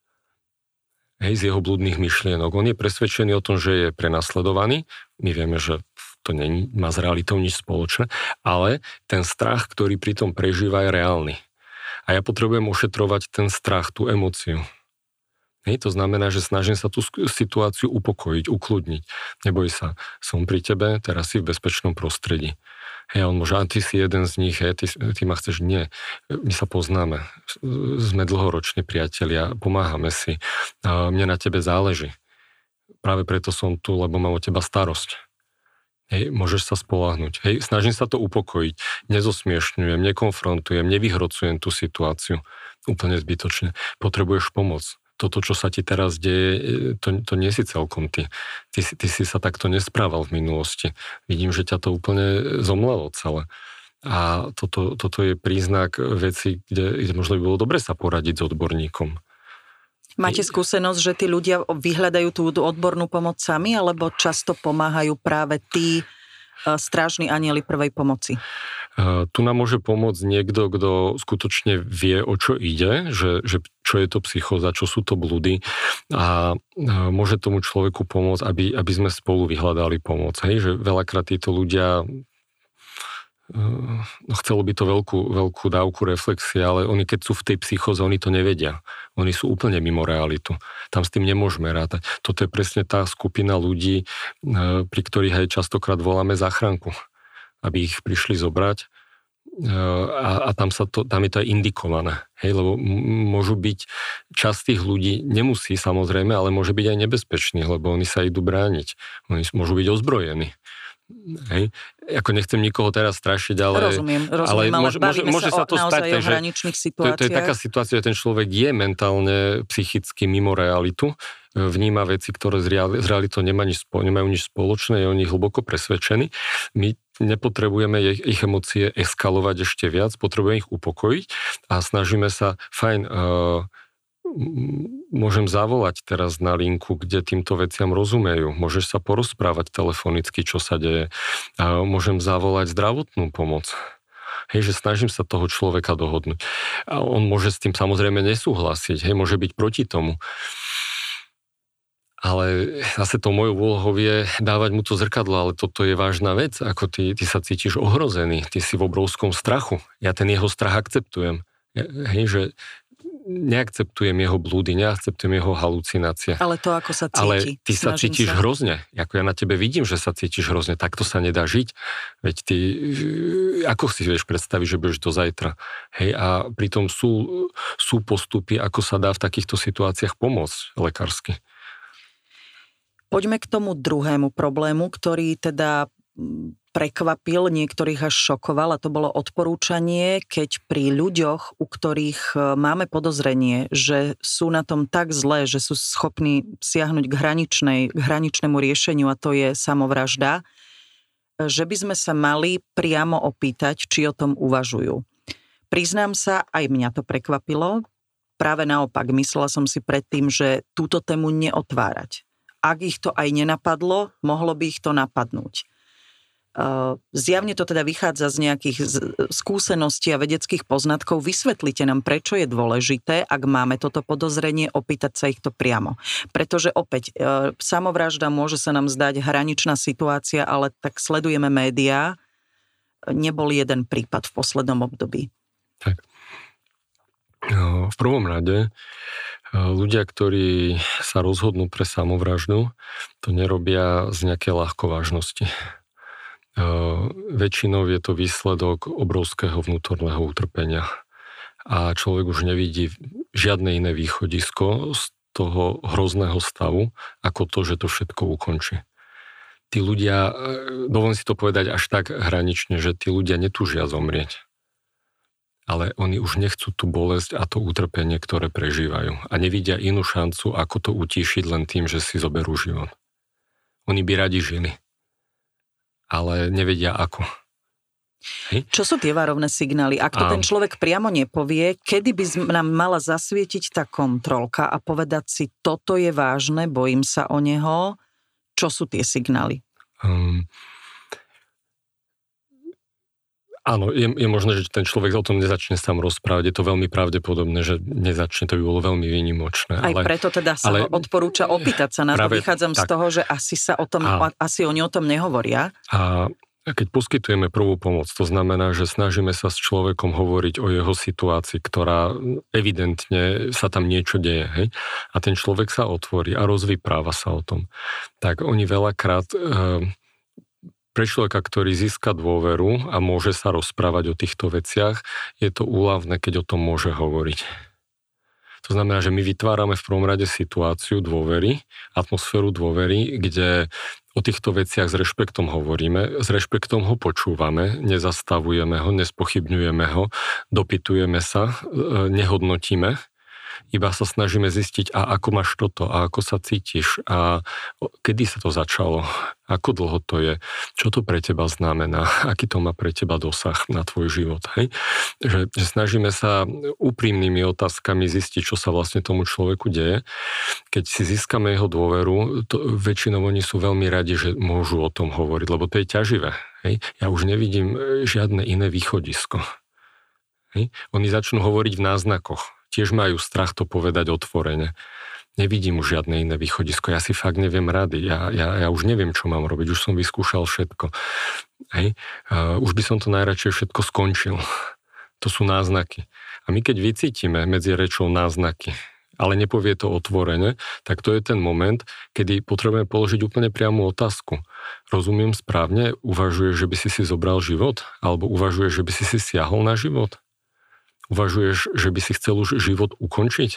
Hej, z jeho bludných myšlienok. On je presvedčený o tom, že je prenasledovaný. My vieme, že to má s realitou nič spoločné, ale ten strach, ktorý pri tom prežíva, je reálny. A ja potrebujem ošetrovať ten strach, tú emóciu. Hej, to znamená, že snažím sa tú situáciu upokojiť, ukludniť. Neboj sa, som pri tebe, teraz si v bezpečnom prostredí. Hej, on môže, ty si jeden z nich, hej, ty ma chceš, nie. My sa poznáme, sme dlhoroční priatelia, pomáhame si, mne na tebe záleží. Práve preto som tu, lebo mám o teba starosť. Hej, môžeš sa spoľahnúť. Hej, snažím sa to upokojiť, nezosmiešňujem, nekonfrontujem, nevyhrocujem tú situáciu úplne zbytočne. Potrebuješ pomoc. Toto, čo sa ti teraz deje, to nie si celkom ty. Ty si sa takto nesprával v minulosti. Vidím, že ťa to úplne zomlelo celé. A toto je príznak veci, kde možno by bolo dobre sa poradiť s odborníkom. Máte skúsenosť, že tí ľudia vyhľadajú tú odbornú pomoc sami, alebo často pomáhajú práve tí strážni anjeli prvej pomoci? Tu nám môže pomôcť niekto, kto skutočne vie, o čo ide, že čo je to psychóza, čo sú to blúdy a môže tomu človeku pomôcť, aby sme spolu vyhľadali pomoc. Hej? Že veľakrát títo ľudia chcelo by to veľkú dávku reflexie, ale oni keď sú v tej psychóze, oni to nevedia. Oni sú úplne mimo realitu. Tam s tým nemôžeme rátať. Toto je presne tá skupina ľudí, pri ktorých aj častokrát voláme záchranku, aby ich prišli zobrať a tam je to aj indikované. Hej, lebo môžu byť, časť tých ľudí nemusí samozrejme, ale môže byť aj nebezpečný, lebo oni sa idú brániť. Oni môžu byť ozbrojení. Hej. Ako nechcem nikoho teraz strašiť, ale... Rozumiem, ale môže sa to stať, o hraničných situáciách. To je taká situácia, že ten človek je mentálne, psychicky mimo realitu, vníma veci, ktoré s realitou nemajú nič spoločné, je o nich hlboko presvedčený. My nepotrebujeme ich emócie eskalovať ešte viac, potrebujeme ich upokojiť a snažíme sa, môžem zavolať teraz na linku, kde týmto veciam rozumejú. Môžeš sa porozprávať telefonicky, čo sa deje. A môžem zavolať zdravotnú pomoc. Hej, že snažím sa toho človeka dohodnúť. A on môže s tým samozrejme nesúhlasiť. Hej, môže byť proti tomu. Ale zase to mojou úlohou je dávať mu to zrkadlo, ale toto je vážna vec. Ako ty sa cítiš ohrozený, ty si v obrovskom strachu. Ja ten jeho strach akceptujem. Hej, že neakceptujem jeho blúdy, neakceptujem jeho halucinácie. Ale to, ako sa cíti. Ale ty sa cítiš hrozne. Ako ja na tebe vidím, že sa cítiš hrozne. Takto sa nedá žiť. Veď ty, ako si vieš predstaviť, že budeš do zajtra. Hej, a pritom sú postupy, ako sa dá v takýchto situáciách pomôcť lekársky. Poďme k tomu druhému problému, ktorý teda prekvapil, niektorých až šokoval, a to bolo odporúčanie, keď pri ľuďoch, u ktorých máme podozrenie, že sú na tom tak zlé, že sú schopní siahnuť k hraničnému riešeniu, a to je samovražda, že by sme sa mali priamo opýtať, či o tom uvažujú. Priznám sa, aj mňa to prekvapilo. Práve naopak, myslela som si predtým, že túto tému neotvárať. Ak ich to aj nenapadlo, mohlo by ich to napadnúť. Zjavne to teda vychádza z nejakých skúseností a vedeckých poznatkov. Vysvetlite nám, prečo je dôležité, ak máme toto podozrenie, opýtať sa ich to priamo. Pretože opäť, samovražda môže sa nám zdať hraničná situácia, ale tak sledujeme médiá, nebol jeden prípad v poslednom období? Tak. V prvom rade ľudia, ktorí sa rozhodnú pre samovraždu, to nerobia z nejakej ľahkovážnosti. Väčšinou je to výsledok obrovského vnútorného utrpenia. A človek už nevidí žiadne iné východisko z toho hrozného stavu, ako to, že to všetko ukončí. Tí ľudia, dovolím si to povedať až tak hranične, že tí ľudia netúžia zomrieť. Ale oni už nechcú tú bolesť a to utrpenie, ktoré prežívajú. A nevidia inú šancu, ako to utíšiť len tým, že si zoberú život. Oni by radi žili. Ale nevedia ako. Hej. Čo sú tie varovné signály? Ak to ten človek priamo nepovie, kedy by nám mala zasvietiť tá kontrolka a povedať si, toto je vážne, bojím sa o neho. Čo sú tie signály? Áno, je možné, že ten človek o tom nezačne sám rozprávať. Je to veľmi pravdepodobné, že nezačne. To by bolo veľmi výnimočné. Aj preto teda sa odporúča opýtať sa na to. Vychádzam z toho, že asi oni o tom nehovoria. A keď poskytujeme prvú pomoc, to znamená, že snažíme sa s človekom hovoriť o jeho situácii, ktorá evidentne sa tam niečo deje. Hej? A ten človek sa otvorí a rozvypráva sa o tom. Tak oni veľakrát... Pre človeka, ktorý získa dôveru a môže sa rozprávať o týchto veciach, je to úľavné, keď o tom môže hovoriť. To znamená, že my vytvárame v prvom rade situáciu dôvery, atmosféru dôvery, kde o týchto veciach s rešpektom hovoríme, s rešpektom ho počúvame, nezastavujeme ho, nespochybňujeme ho, dopytujeme sa, nehodnotíme, iba sa snažíme zistiť, a ako máš toto, a ako sa cítiš, a kedy sa to začalo, ako dlho to je, čo to pre teba znamená, aký to má pre teba dosah na tvoj život. Hej? Že snažíme sa úprimnými otázkami zistiť, čo sa vlastne tomu človeku deje. Keď si získame jeho dôveru, väčšinou oni sú veľmi radi, že môžu o tom hovoriť, lebo to je ťaživé. Hej? Ja už nevidím žiadne iné východisko. Hej? Oni začnú hovoriť v náznakoch. Tiež majú strach to povedať otvorene. Nevidím už žiadne iné východisko. Ja si fakt neviem rady. Ja už neviem, čo mám robiť. Už som vyskúšal všetko. Hej. Už by som to najradšej všetko skončil. To sú náznaky. A my keď vycítime medzi rečou náznaky, ale nepovie to otvorene, tak to je ten moment, kedy potrebujeme položiť úplne priamu otázku. Rozumiem správne? Uvažuješ, že by si zobral život? Alebo uvažuješ, že by si siahol na život? Uvažuješ, že by si chcel už život ukončiť?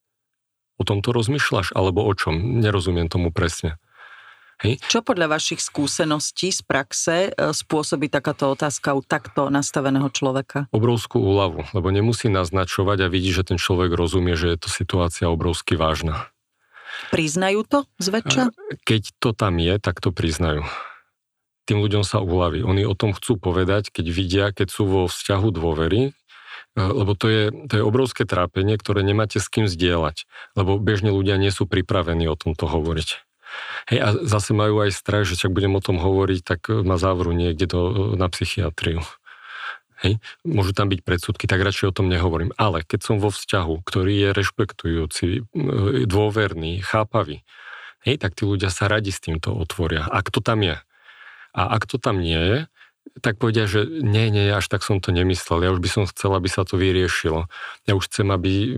O tomto rozmýšľaš? Alebo o čom? Nerozumiem tomu presne. Hej? Čo podľa vašich skúseností z praxe spôsobí takáto otázka u takto nastaveného človeka? Obrovskú úľavu, lebo nemusí naznačovať a vidí, že ten človek rozumie, že je to situácia obrovsky vážna. Priznajú to zväčša? Keď to tam je, tak to priznajú. Tým ľuďom sa uľaví. Oni o tom chcú povedať, keď vidia, keď sú vo vzťahu dôvery, lebo to je obrovské trápenie, ktoré nemáte s kým zdieľať, lebo bežne ľudia nie sú pripravení o tomto hovoriť. Hej, a zase majú aj strach, že ak budem o tom hovoriť, tak ma zavrú niekde na psychiatriu. Hej, môžu tam byť predsudky, tak radšej o tom nehovorím. Ale keď som vo vzťahu, ktorý je rešpektujúci, dôverný, chápavý, hej, tak tí ľudia sa radi s týmto otvoria. Ak to tam je. A ak to tam nie je, tak povedia, že nie, až tak som to nemyslel. Ja už by som chcel, aby sa to vyriešilo. Ja už chcem, aby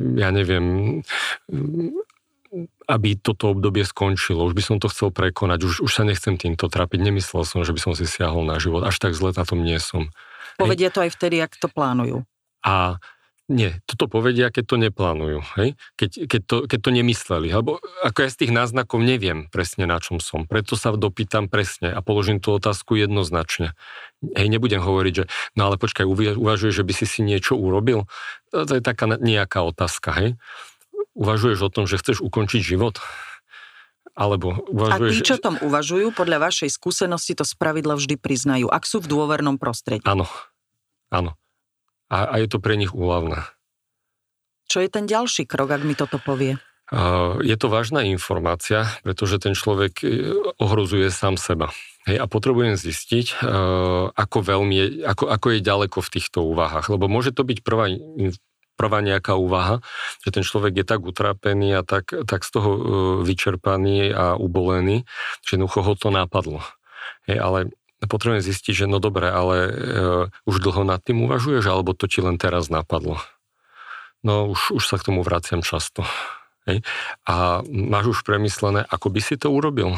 toto obdobie skončilo. Už by som to chcel prekonať. Už sa nechcem týmto trápiť. Nemyslel som, že by som si siahol na život. Až tak zle na tom nie som. Povedia to aj vtedy, ak to plánujú. A nie, toto povedia, keď to neplánujú. Hej? Keď to nemysleli. Lebo ako ja z tých náznakov neviem presne, na čom som. Preto sa dopýtam presne a položím tú otázku jednoznačne. Hej, nebudem hovoriť, že no ale počkaj, uvažuješ, že by si niečo urobil? To je taká nejaká otázka. Hej? Uvažuješ o tom, že chceš ukončiť život? Alebo uvažuješ... A tí, čo tom uvažujú, podľa vašej skúsenosti to spravidla vždy priznajú, ak sú v dôvernom prostredí. Áno. A je to pre nich úľavné. Čo je ten ďalší krok, ak mi toto povie? Je to vážna informácia, pretože ten človek ohrozuje sám seba. Hej, a potrebujem zistiť, ako je ďaleko v týchto úvahách. Lebo môže to byť prvá nejaká úvaha, že ten človek je tak utrápený a tak z toho vyčerpaný a ubolený, že jednoducho ho to napadlo. Hej, ale potrebujem zistiť, že no dobre, ale už dlho nad tým uvažuješ, alebo to ti len teraz napadlo? No už sa k tomu vraciam často. Hej? A máš už premyslené, ako by si to urobil?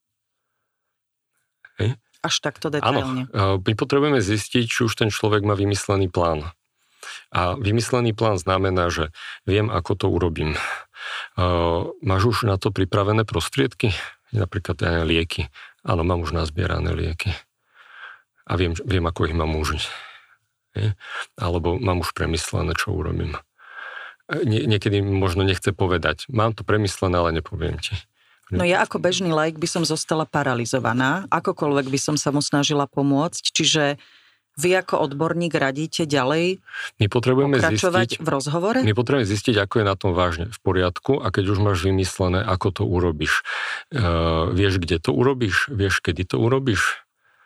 Hej? Až takto detailne. Áno, my potrebujeme zistiť, či už ten človek má vymyslený plán. A vymyslený plán znamená, že viem, ako to urobím. Máš už na to pripravené prostriedky? Napríklad lieky. Áno, mám už nazbierané lieky. A viem ako ich mám užiť. Alebo mám už premyslené, čo urobím. Niekedy možno nechce povedať. Mám to premyslené, ale nepoviem ti. No ja ako bežný laik by som zostala paralizovaná. Akokoľvek by som sa mu snažila pomôcť. Čiže vy ako odborník radíte ďalej pokračovať v rozhovore? My potrebujeme zistiť, ako je na tom vážne v poriadku a keď už máš vymyslené, ako to urobíš. Vieš, kde to urobíš? Vieš, kedy to urobíš?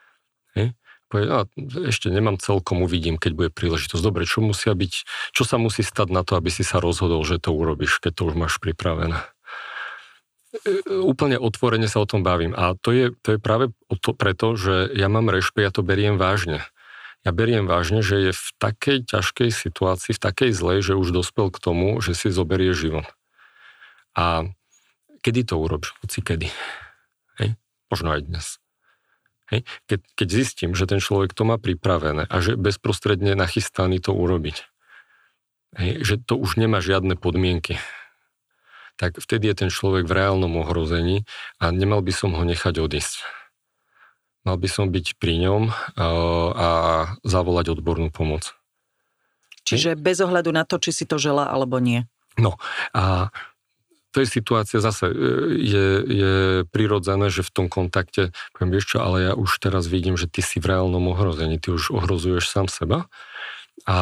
Ešte nemám celkom, uvidím, keď bude príležitosť. Dobre, čo sa musí stať na to, aby si sa rozhodol, že to urobíš, keď to už máš pripravené? Úplne otvorene sa o tom bavím. A to je práve preto, že ja mám rešpekt, ja to beriem vážne. Ja beriem vážne, že je v takej ťažkej situácii, v takej zlej, že už dospel k tomu, že si zoberie život. A kedy to urobíš? Hoci kedy. Hej? Možno aj dnes. Hej? Keď zistím, že ten človek to má pripravené a že bezprostredne nachystaný to urobiť. Hej? Že to už nemá žiadne podmienky. Tak vtedy je ten človek v reálnom ohrození a nemal by som ho nechať odísť. Mal by som byť pri ňom a zavolať odbornú pomoc. Čiže bez ohľadu na to, či si to želá alebo nie. No a to je situácia zase, je prirodzené, že v tom kontakte poviem, vieš čo, ale ja už teraz vidím, že ty si v reálnom ohrození, ty už ohrozuješ sám seba a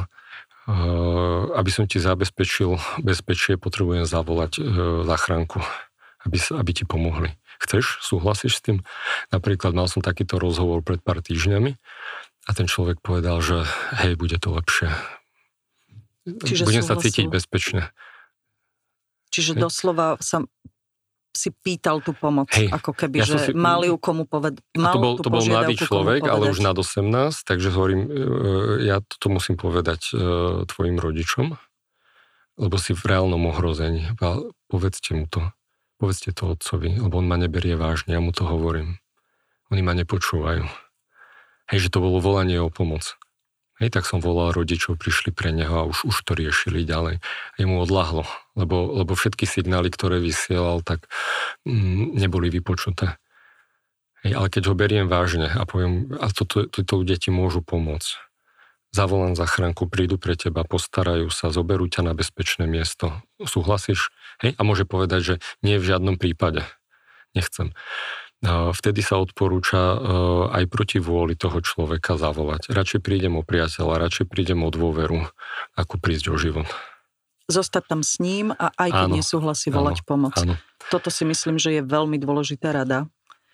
aby som ti zabezpečil bezpečie, potrebujem zavolať záchranku, aby ti pomohli. Chceš? Súhlasíš s tým? Napríklad mal som takýto rozhovor pred pár týždňami a ten človek povedal, že hej, bude to lepšie. Budem sa cítiť bezpečne. Čiže doslova som si pýtal tú pomoc, ako keby, že mali ju komu povedať. To bol mladý človek, ale už nad 18, takže hovorím, ja to musím povedať tvojim rodičom, lebo si v reálnom ohrození. Povedzte mu to. Povedzte to otcovi, lebo on ma neberie vážne, ja mu to hovorím. Oni ma nepočúvajú. Hej, že to bolo volanie o pomoc. Hej, tak som volal rodičov, prišli pre neho a už to riešili ďalej. A jemu odľahlo, lebo všetky signály, ktoré vysielal, tak neboli vypočuté. Hej, ale keď ho beriem vážne a poviem, a títo ľudia ti môžu pomôcť. Zavolám záchranku, prídu pre teba, postarajú sa, zoberú ťa na bezpečné miesto. Súhlasíš? Hej, a môže povedať, že nie v žiadnom prípade. Nechcem. Vtedy sa odporúča aj proti vôli toho človeka zavolať. Radšej prídem o priateľa, radšej prídem o dôveru, ako prísť o život. Zostať tam s ním a aj keď nesúhlasí volať pomoc. Áno. Toto si myslím, že je veľmi dôležitá rada.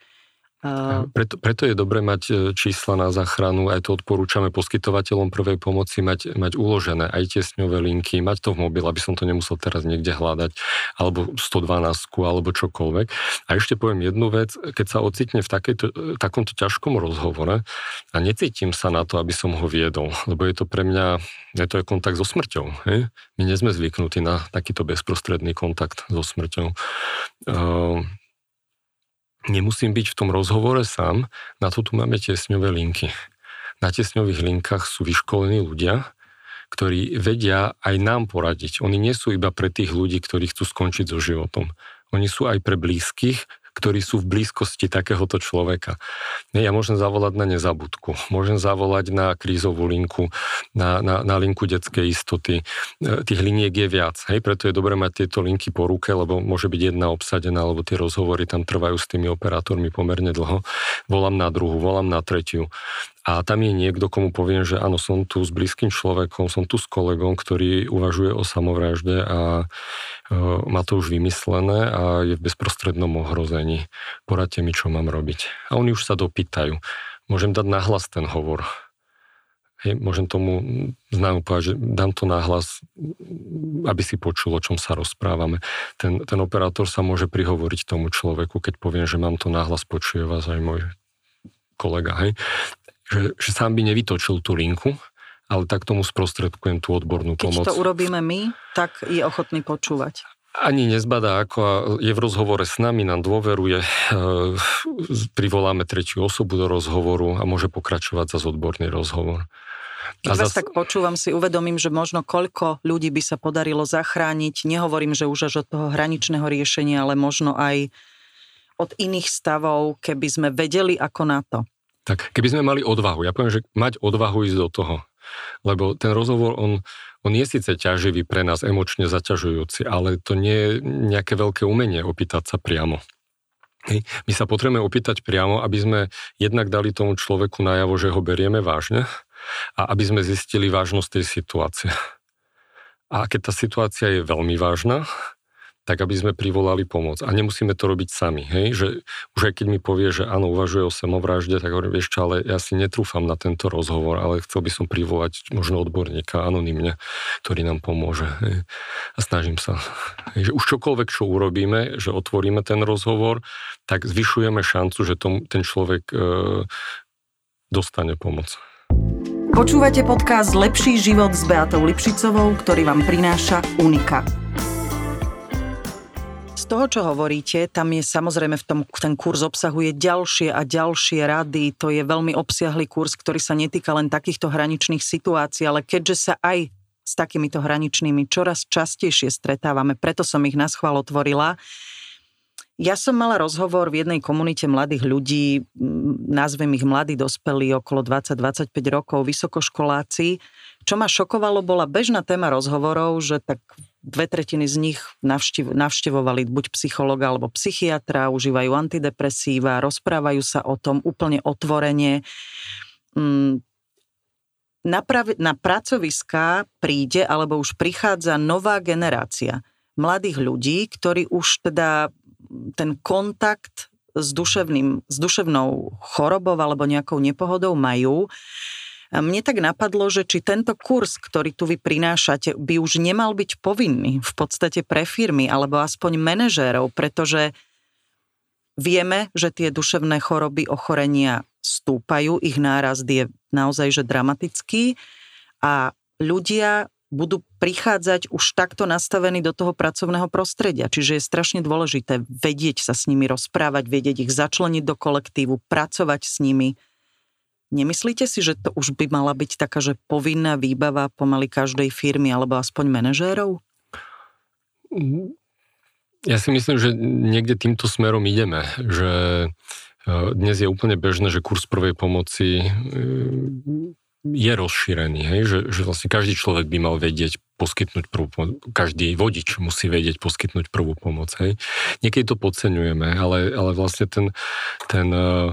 Preto je dobré mať čísla na záchranu, aj to odporúčame poskytovateľom prvej pomoci mať uložené aj tiesňové linky, mať to v mobile, aby som to nemusel teraz niekde hľadať, alebo 112 alebo čokoľvek. A ešte poviem jednu vec, keď sa ocitne v takomto ťažkom rozhovore a necítim sa na to, aby som ho viedol, lebo je to pre mňa, je to kontakt so smrťou. Hej? My nie sme zvyknutí na takýto bezprostredný kontakt so smrťou. Nemusím byť v tom rozhovore sám, na to tu máme tiesňové linky. Na tiesňových linkách sú vyškolení ľudia, ktorí vedia aj nám poradiť. Oni nie sú iba pre tých ľudí, ktorí chcú skončiť so životom. Oni sú aj pre blízkych, ktorí sú v blízkosti takéhoto človeka. Ja môžem zavolať na nezabudku, môžem zavolať na krízovú linku, na linku detskej istoty. Tých liniek je viac, hej? Preto je dobré mať tieto linky po ruke, lebo môže byť jedna obsadená, lebo tie rozhovory tam trvajú s tými operátormi pomerne dlho. Volám na druhú, volám na tretiu. A tam je niekto, komu poviem, že áno, som tu s blízkym človekom, som tu s kolegom, ktorý uvažuje o samovražde a má to už vymyslené a je v bezprostrednom ohrození. Poradte mi, čo mám robiť. A oni už sa dopýtajú. Môžem dať nahlas ten hovor. Hej, môžem tomu známu povedať, že dám to nahlas, aby si počul, o čom sa rozprávame. Ten operátor sa môže prihovoriť tomu človeku, keď poviem, že mám to nahlas, počuje vás aj môj kolega, hej, že sám by nevytočil tú linku, ale tak tomu sprostredkujem tú odbornú pomoc. Keď to urobíme my, tak je ochotný počúvať. Ani nezbadá, ako je v rozhovore s nami, nám dôveruje, privoláme tretiu osobu do rozhovoru a môže pokračovať za odborný rozhovor. Keď vás tak počúvam, si uvedomím, že možno koľko ľudí by sa podarilo zachrániť. Nehovorím, že už až od toho hraničného riešenia, ale možno aj od iných stavov, keby sme vedeli ako na to. Tak, keby sme mali odvahu. Ja poviem, že mať odvahu ísť do toho. Lebo ten rozhovor, on je síce ťaživý pre nás, emočne zaťažujúci, ale to nie je nejaké veľké umenie opýtať sa priamo. Hej. My sa potrebujeme opýtať priamo, aby sme jednak dali tomu človeku najavo, že ho berieme vážne a aby sme zistili vážnosť tej situácie. A keď tá situácia je veľmi vážna, tak aby sme privolali pomoc. A nemusíme to robiť sami. Hej? Že už aj keď mi povie, že áno, uvažuje o samovražde, tak hovorím, vieš čo, ale ja si netrúfam na tento rozhovor, ale chcel by som privolať možno odborníka anonymne, ktorý nám pomôže. Hej? A snažím sa. Hej? Že už čokoľvek, čo urobíme, že otvoríme ten rozhovor, tak zvyšujeme šancu, že ten človek dostane pomoc. Počúvate podcast Lepší život s Beatou Lipšicovou, ktorý vám prináša Unika. Z toho, čo hovoríte, tam je samozrejme ten kurz obsahuje ďalšie a ďalšie rady. To je veľmi obsiahly kurz, ktorý sa netýka len takýchto hraničných situácií, ale keďže sa aj s takýmito hraničnými čoraz častejšie stretávame, preto som ich naschvál otvorila. Ja som mala rozhovor v jednej komunite mladých ľudí, nazvem ich mladí dospelí, okolo 20-25 rokov, vysokoškoláci. Čo ma šokovalo, bola bežná téma rozhovorov, že tak 2/3 z nich navštevovali buď psychologa alebo psychiatra, užívajú antidepresíva, rozprávajú sa o tom úplne otvorene. Na pracoviská príde alebo už prichádza nová generácia mladých ľudí, ktorí už teda ten kontakt s duševnou chorobou alebo nejakou nepohodou majú. A mne tak napadlo, že či tento kurz, ktorý tu vy prinášate, by už nemal byť povinný v podstate pre firmy alebo aspoň manažérov, pretože vieme, že tie duševné choroby, ochorenia stúpajú, ich nárast je naozaj že dramatický a ľudia budú prichádzať už takto nastavení do toho pracovného prostredia. Čiže je strašne dôležité vedieť sa s nimi rozprávať, vedieť ich začleniť do kolektívu, pracovať s nimi. Nemyslíte si, že to už by mala byť taká, že povinná výbava pomaly každej firmy alebo aspoň manažérov? Ja si myslím, že niekde týmto smerom ideme. Že dnes je úplne bežné, že kurz prvej pomoci je rozšírený, hej? Že vlastne každý človek by mal vedieť poskytnúť prvú pomoc. Každý vodič musí vedieť poskytnúť prvú pomoc. Hej? Niekedy to podceňujeme, ale vlastne ten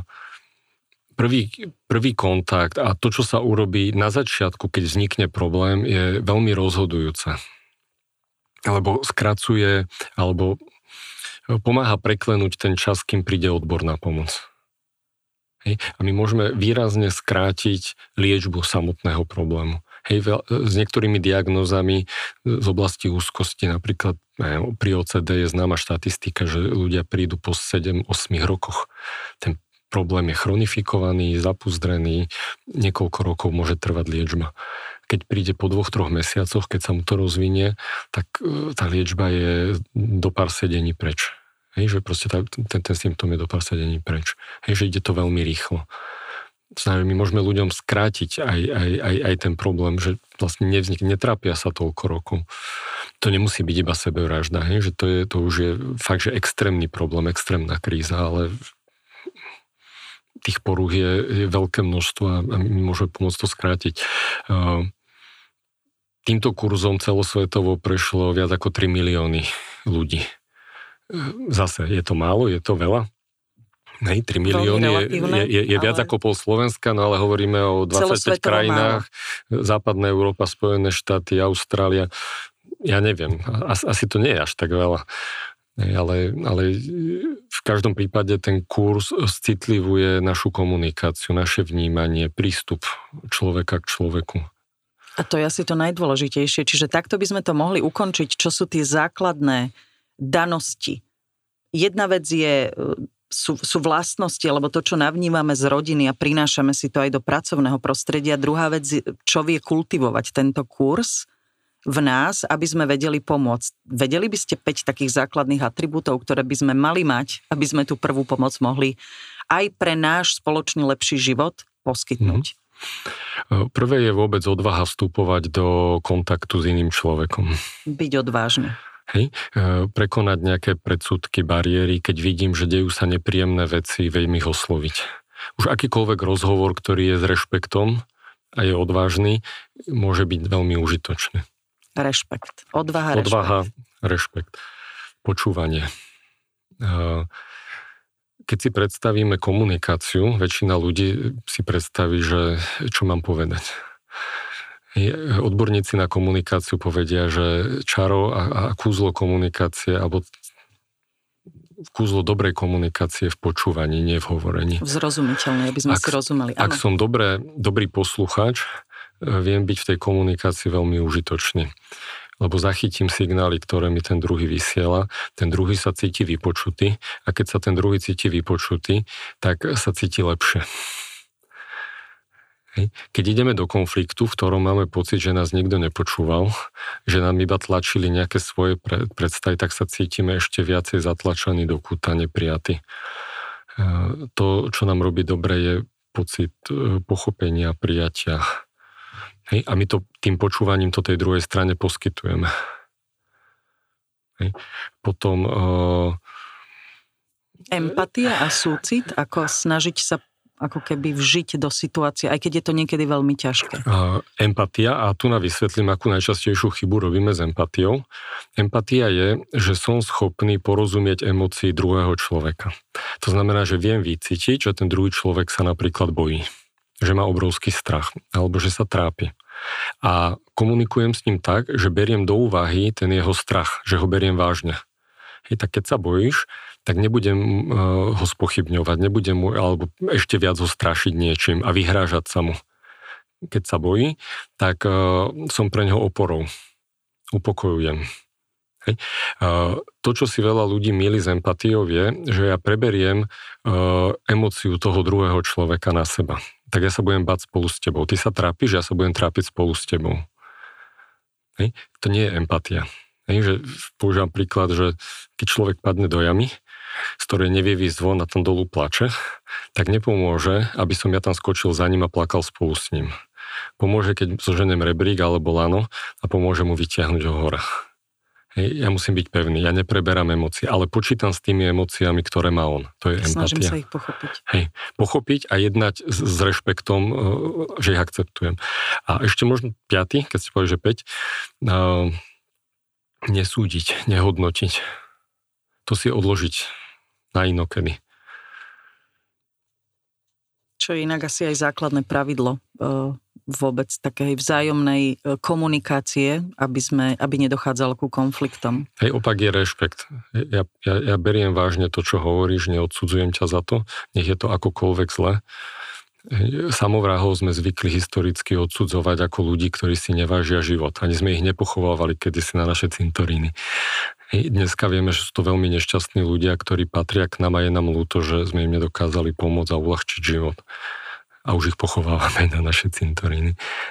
prvý kontakt a to, čo sa urobí na začiatku, keď vznikne problém, je veľmi rozhodujúce. Alebo skracuje, alebo pomáha preklenúť ten čas, kým príde odborná pomoc. Hej. A my môžeme výrazne skrátiť liečbu samotného problému. Hej, s niektorými diagnózami z oblasti úzkosti, napríklad pri OCD je známa štatistika, že ľudia prídu po 7-8 rokoch. Ten problém je chronifikovaný, zapuzdrený, niekoľko rokov môže trvať liečba. Keď príde po 2-3 mesiacoch, keď sa mu to rozvinie, tak tá liečba je do pár sedení preč. Hej, že proste ten symptóm je do pár sedení preč. Hej, že ide to veľmi rýchlo. Znamená, my môžeme ľuďom skrátiť aj ten problém, že vlastne netrápia sa toľko rokov. To nemusí byť iba sebevražda, hej, že to už je fakt, že extrémny problém, extrémna kríza, ale tých porúch je veľké množstvo a my môžeme pomôcť to skrátiť. Týmto kurzom celosvetovo prešlo viac ako 3 milióny ľudí. Zase, je to málo, je to veľa? Hej, 3 milióny je viac ako pol Slovenska, no ale hovoríme o 25 krajinách, málo. Západná Európa, Spojené štáty, Austrália. Ja neviem, asi to nie je až tak veľa. Ale v každom prípade ten kurz citlivuje našu komunikáciu, naše vnímanie, prístup človeka k človeku. A to je asi to najdôležitejšie. Čiže takto by sme to mohli ukončiť. Čo sú tie základné danosti? Jedna vec je sú vlastnosti, alebo to, čo navnímame z rodiny a prinášame si to aj do pracovného prostredia. Druhá vec, čo vie kultivovať tento kurz v nás, aby sme vedeli pomôcť. Vedeli by ste 5 takých základných atribútov, ktoré by sme mali mať, aby sme tú prvú pomoc mohli aj pre náš spoločný lepší život poskytnúť? Prvé je vôbec odvaha vstupovať do kontaktu s iným človekom. Byť odvážny. Hej, prekonať nejaké predsudky, bariéry, keď vidím, že dejú sa nepríjemné veci, viem ich osloviť. Už akýkoľvek rozhovor, ktorý je s rešpektom a je odvážny, môže byť veľmi užitočný. Rešpekt. Odvaha, rešpekt. Počúvanie. Keď si predstavíme komunikáciu, väčšina ľudí si predstaví, že čo mám povedať. Odborníci na komunikáciu povedia, že čaro a kúzlo komunikácie, alebo kúzlo dobrej komunikácie v počúvaní, nie v hovorení. Zrozumiteľné, aby sme si rozumeli. Ak som dobrý poslucháč, viem byť v tej komunikácii veľmi užitočný. Lebo zachytím signály, ktoré mi ten druhý vysiela, ten druhý sa cíti vypočutý a keď sa ten druhý cíti vypočutý, tak sa cíti lepšie. Keď ideme do konfliktu, v ktorom máme pocit, že nás nikto nepočúval, že nám iba tlačili nejaké svoje predstavy, tak sa cítime ešte viacej zatlačení do kúta, neprijatí. To, čo nám robí dobre, je pocit pochopenia, prijatia. A my to tým počúvaním to tej druhej strane poskytujeme. Potom empatia a súcit, ako snažiť sa ako keby vžiť do situácie, aj keď je to niekedy veľmi ťažké. Empatia, a tu vysvetlím, akú najčastejšiu chybu robíme s empatiou. Empatia je, že som schopný porozumieť emócii druhého človeka. To znamená, že viem vycítiť, že ten druhý človek sa napríklad bojí, že má obrovský strach, alebo že sa trápi. A komunikujem s ním tak, že beriem do úvahy ten jeho strach, že ho beriem vážne. Tak keď sa bojíš, tak nebudem ho spochybňovať, nebudem mu, alebo ešte viac ho strašiť niečím a vyhrážať sa mu. Keď sa bojí, tak som pre neho oporou. Upokojujem. To, čo si veľa ľudí mýli s empatiou, je, že ja preberiem emóciu toho druhého človeka na seba. Tak ja sa budem báť spolu s tebou. Ty sa trápiš, ja sa budem trápiť spolu s tebou. To nie je empatia. Že používam príklad, že keď človek padne do jamy, z ktorej nevie výjsť von a tam dolu plače, tak nepomôže, aby som ja tam skočil za ním a plakal spolu s ním. Pomôže, keď zoženiem rebrík alebo lano a pomôže mu vytiahnuť ho hore. Ja musím byť pevný, ja nepreberám emócie, ale počítam s tými emóciami, ktoré má on. To je empatia. Snažím sa ich pochopiť. Pochopiť a jednať s rešpektom, že ich akceptujem. A ešte možno 5, keď ste povedali, že 5, nesúdiť, nehodnotiť. To si odložiť na inokedy. Čo je inak asi aj základné pravidlo vôbec takej vzájomnej komunikácie, aby nedochádzalo ku konfliktom. Opak je rešpekt. Ja beriem vážne to, čo hovoríš, neodsudzujem ťa za to, nech je to akokoľvek zle. Samovrahov sme zvykli historicky odsudzovať ako ľudí, ktorí si nevážia život. Ani sme ich nepochovávali kedysi na naše cintoríny. Dneska vieme, že sú to veľmi nešťastní ľudia, ktorí patria k nám a je nám ľúto, že sme im nedokázali pomôcť a uľahčiť život. A už ich pochovávame na naše cintoríny.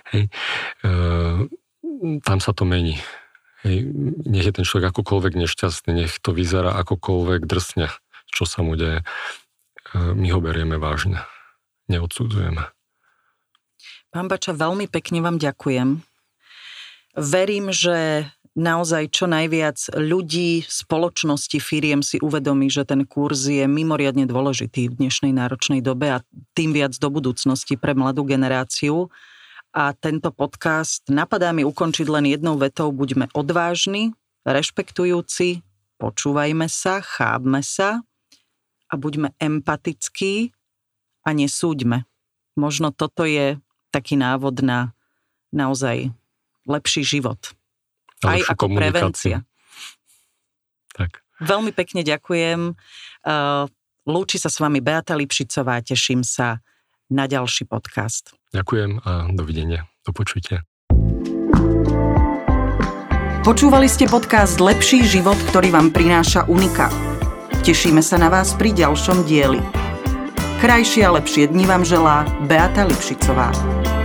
Tam sa to mení. Nech je ten človek akokoľvek nešťastný, nech to vyzerá akokoľvek drsne, čo sa mu deje. My ho berieme vážne. Neodsudzujeme. Pán Bača, veľmi pekne vám ďakujem. Verím, že naozaj čo najviac ľudí, spoločnosti, firiem si uvedomí, že ten kurz je mimoriadne dôležitý v dnešnej náročnej dobe a tým viac do budúcnosti pre mladú generáciu. A tento podcast napadá mi ukončiť len jednou vetou: buďme odvážni, rešpektujúci, počúvajme sa, chápme sa a buďme empatickí a nesúďme. Možno toto je taký návod na naozaj lepší život. Aj ako prevencia. Tak. Veľmi pekne ďakujem. Lúči sa s vami Beata Lipšicová. Teším sa na ďalší podcast. Ďakujem a dovidenia. Do počutia. Počúvali ste podcast Lepší život, ktorý vám prináša Unika. Tešíme sa na vás pri ďalšom dieli. Krajšie a lepšie dni vám želá Beata Lipšicová.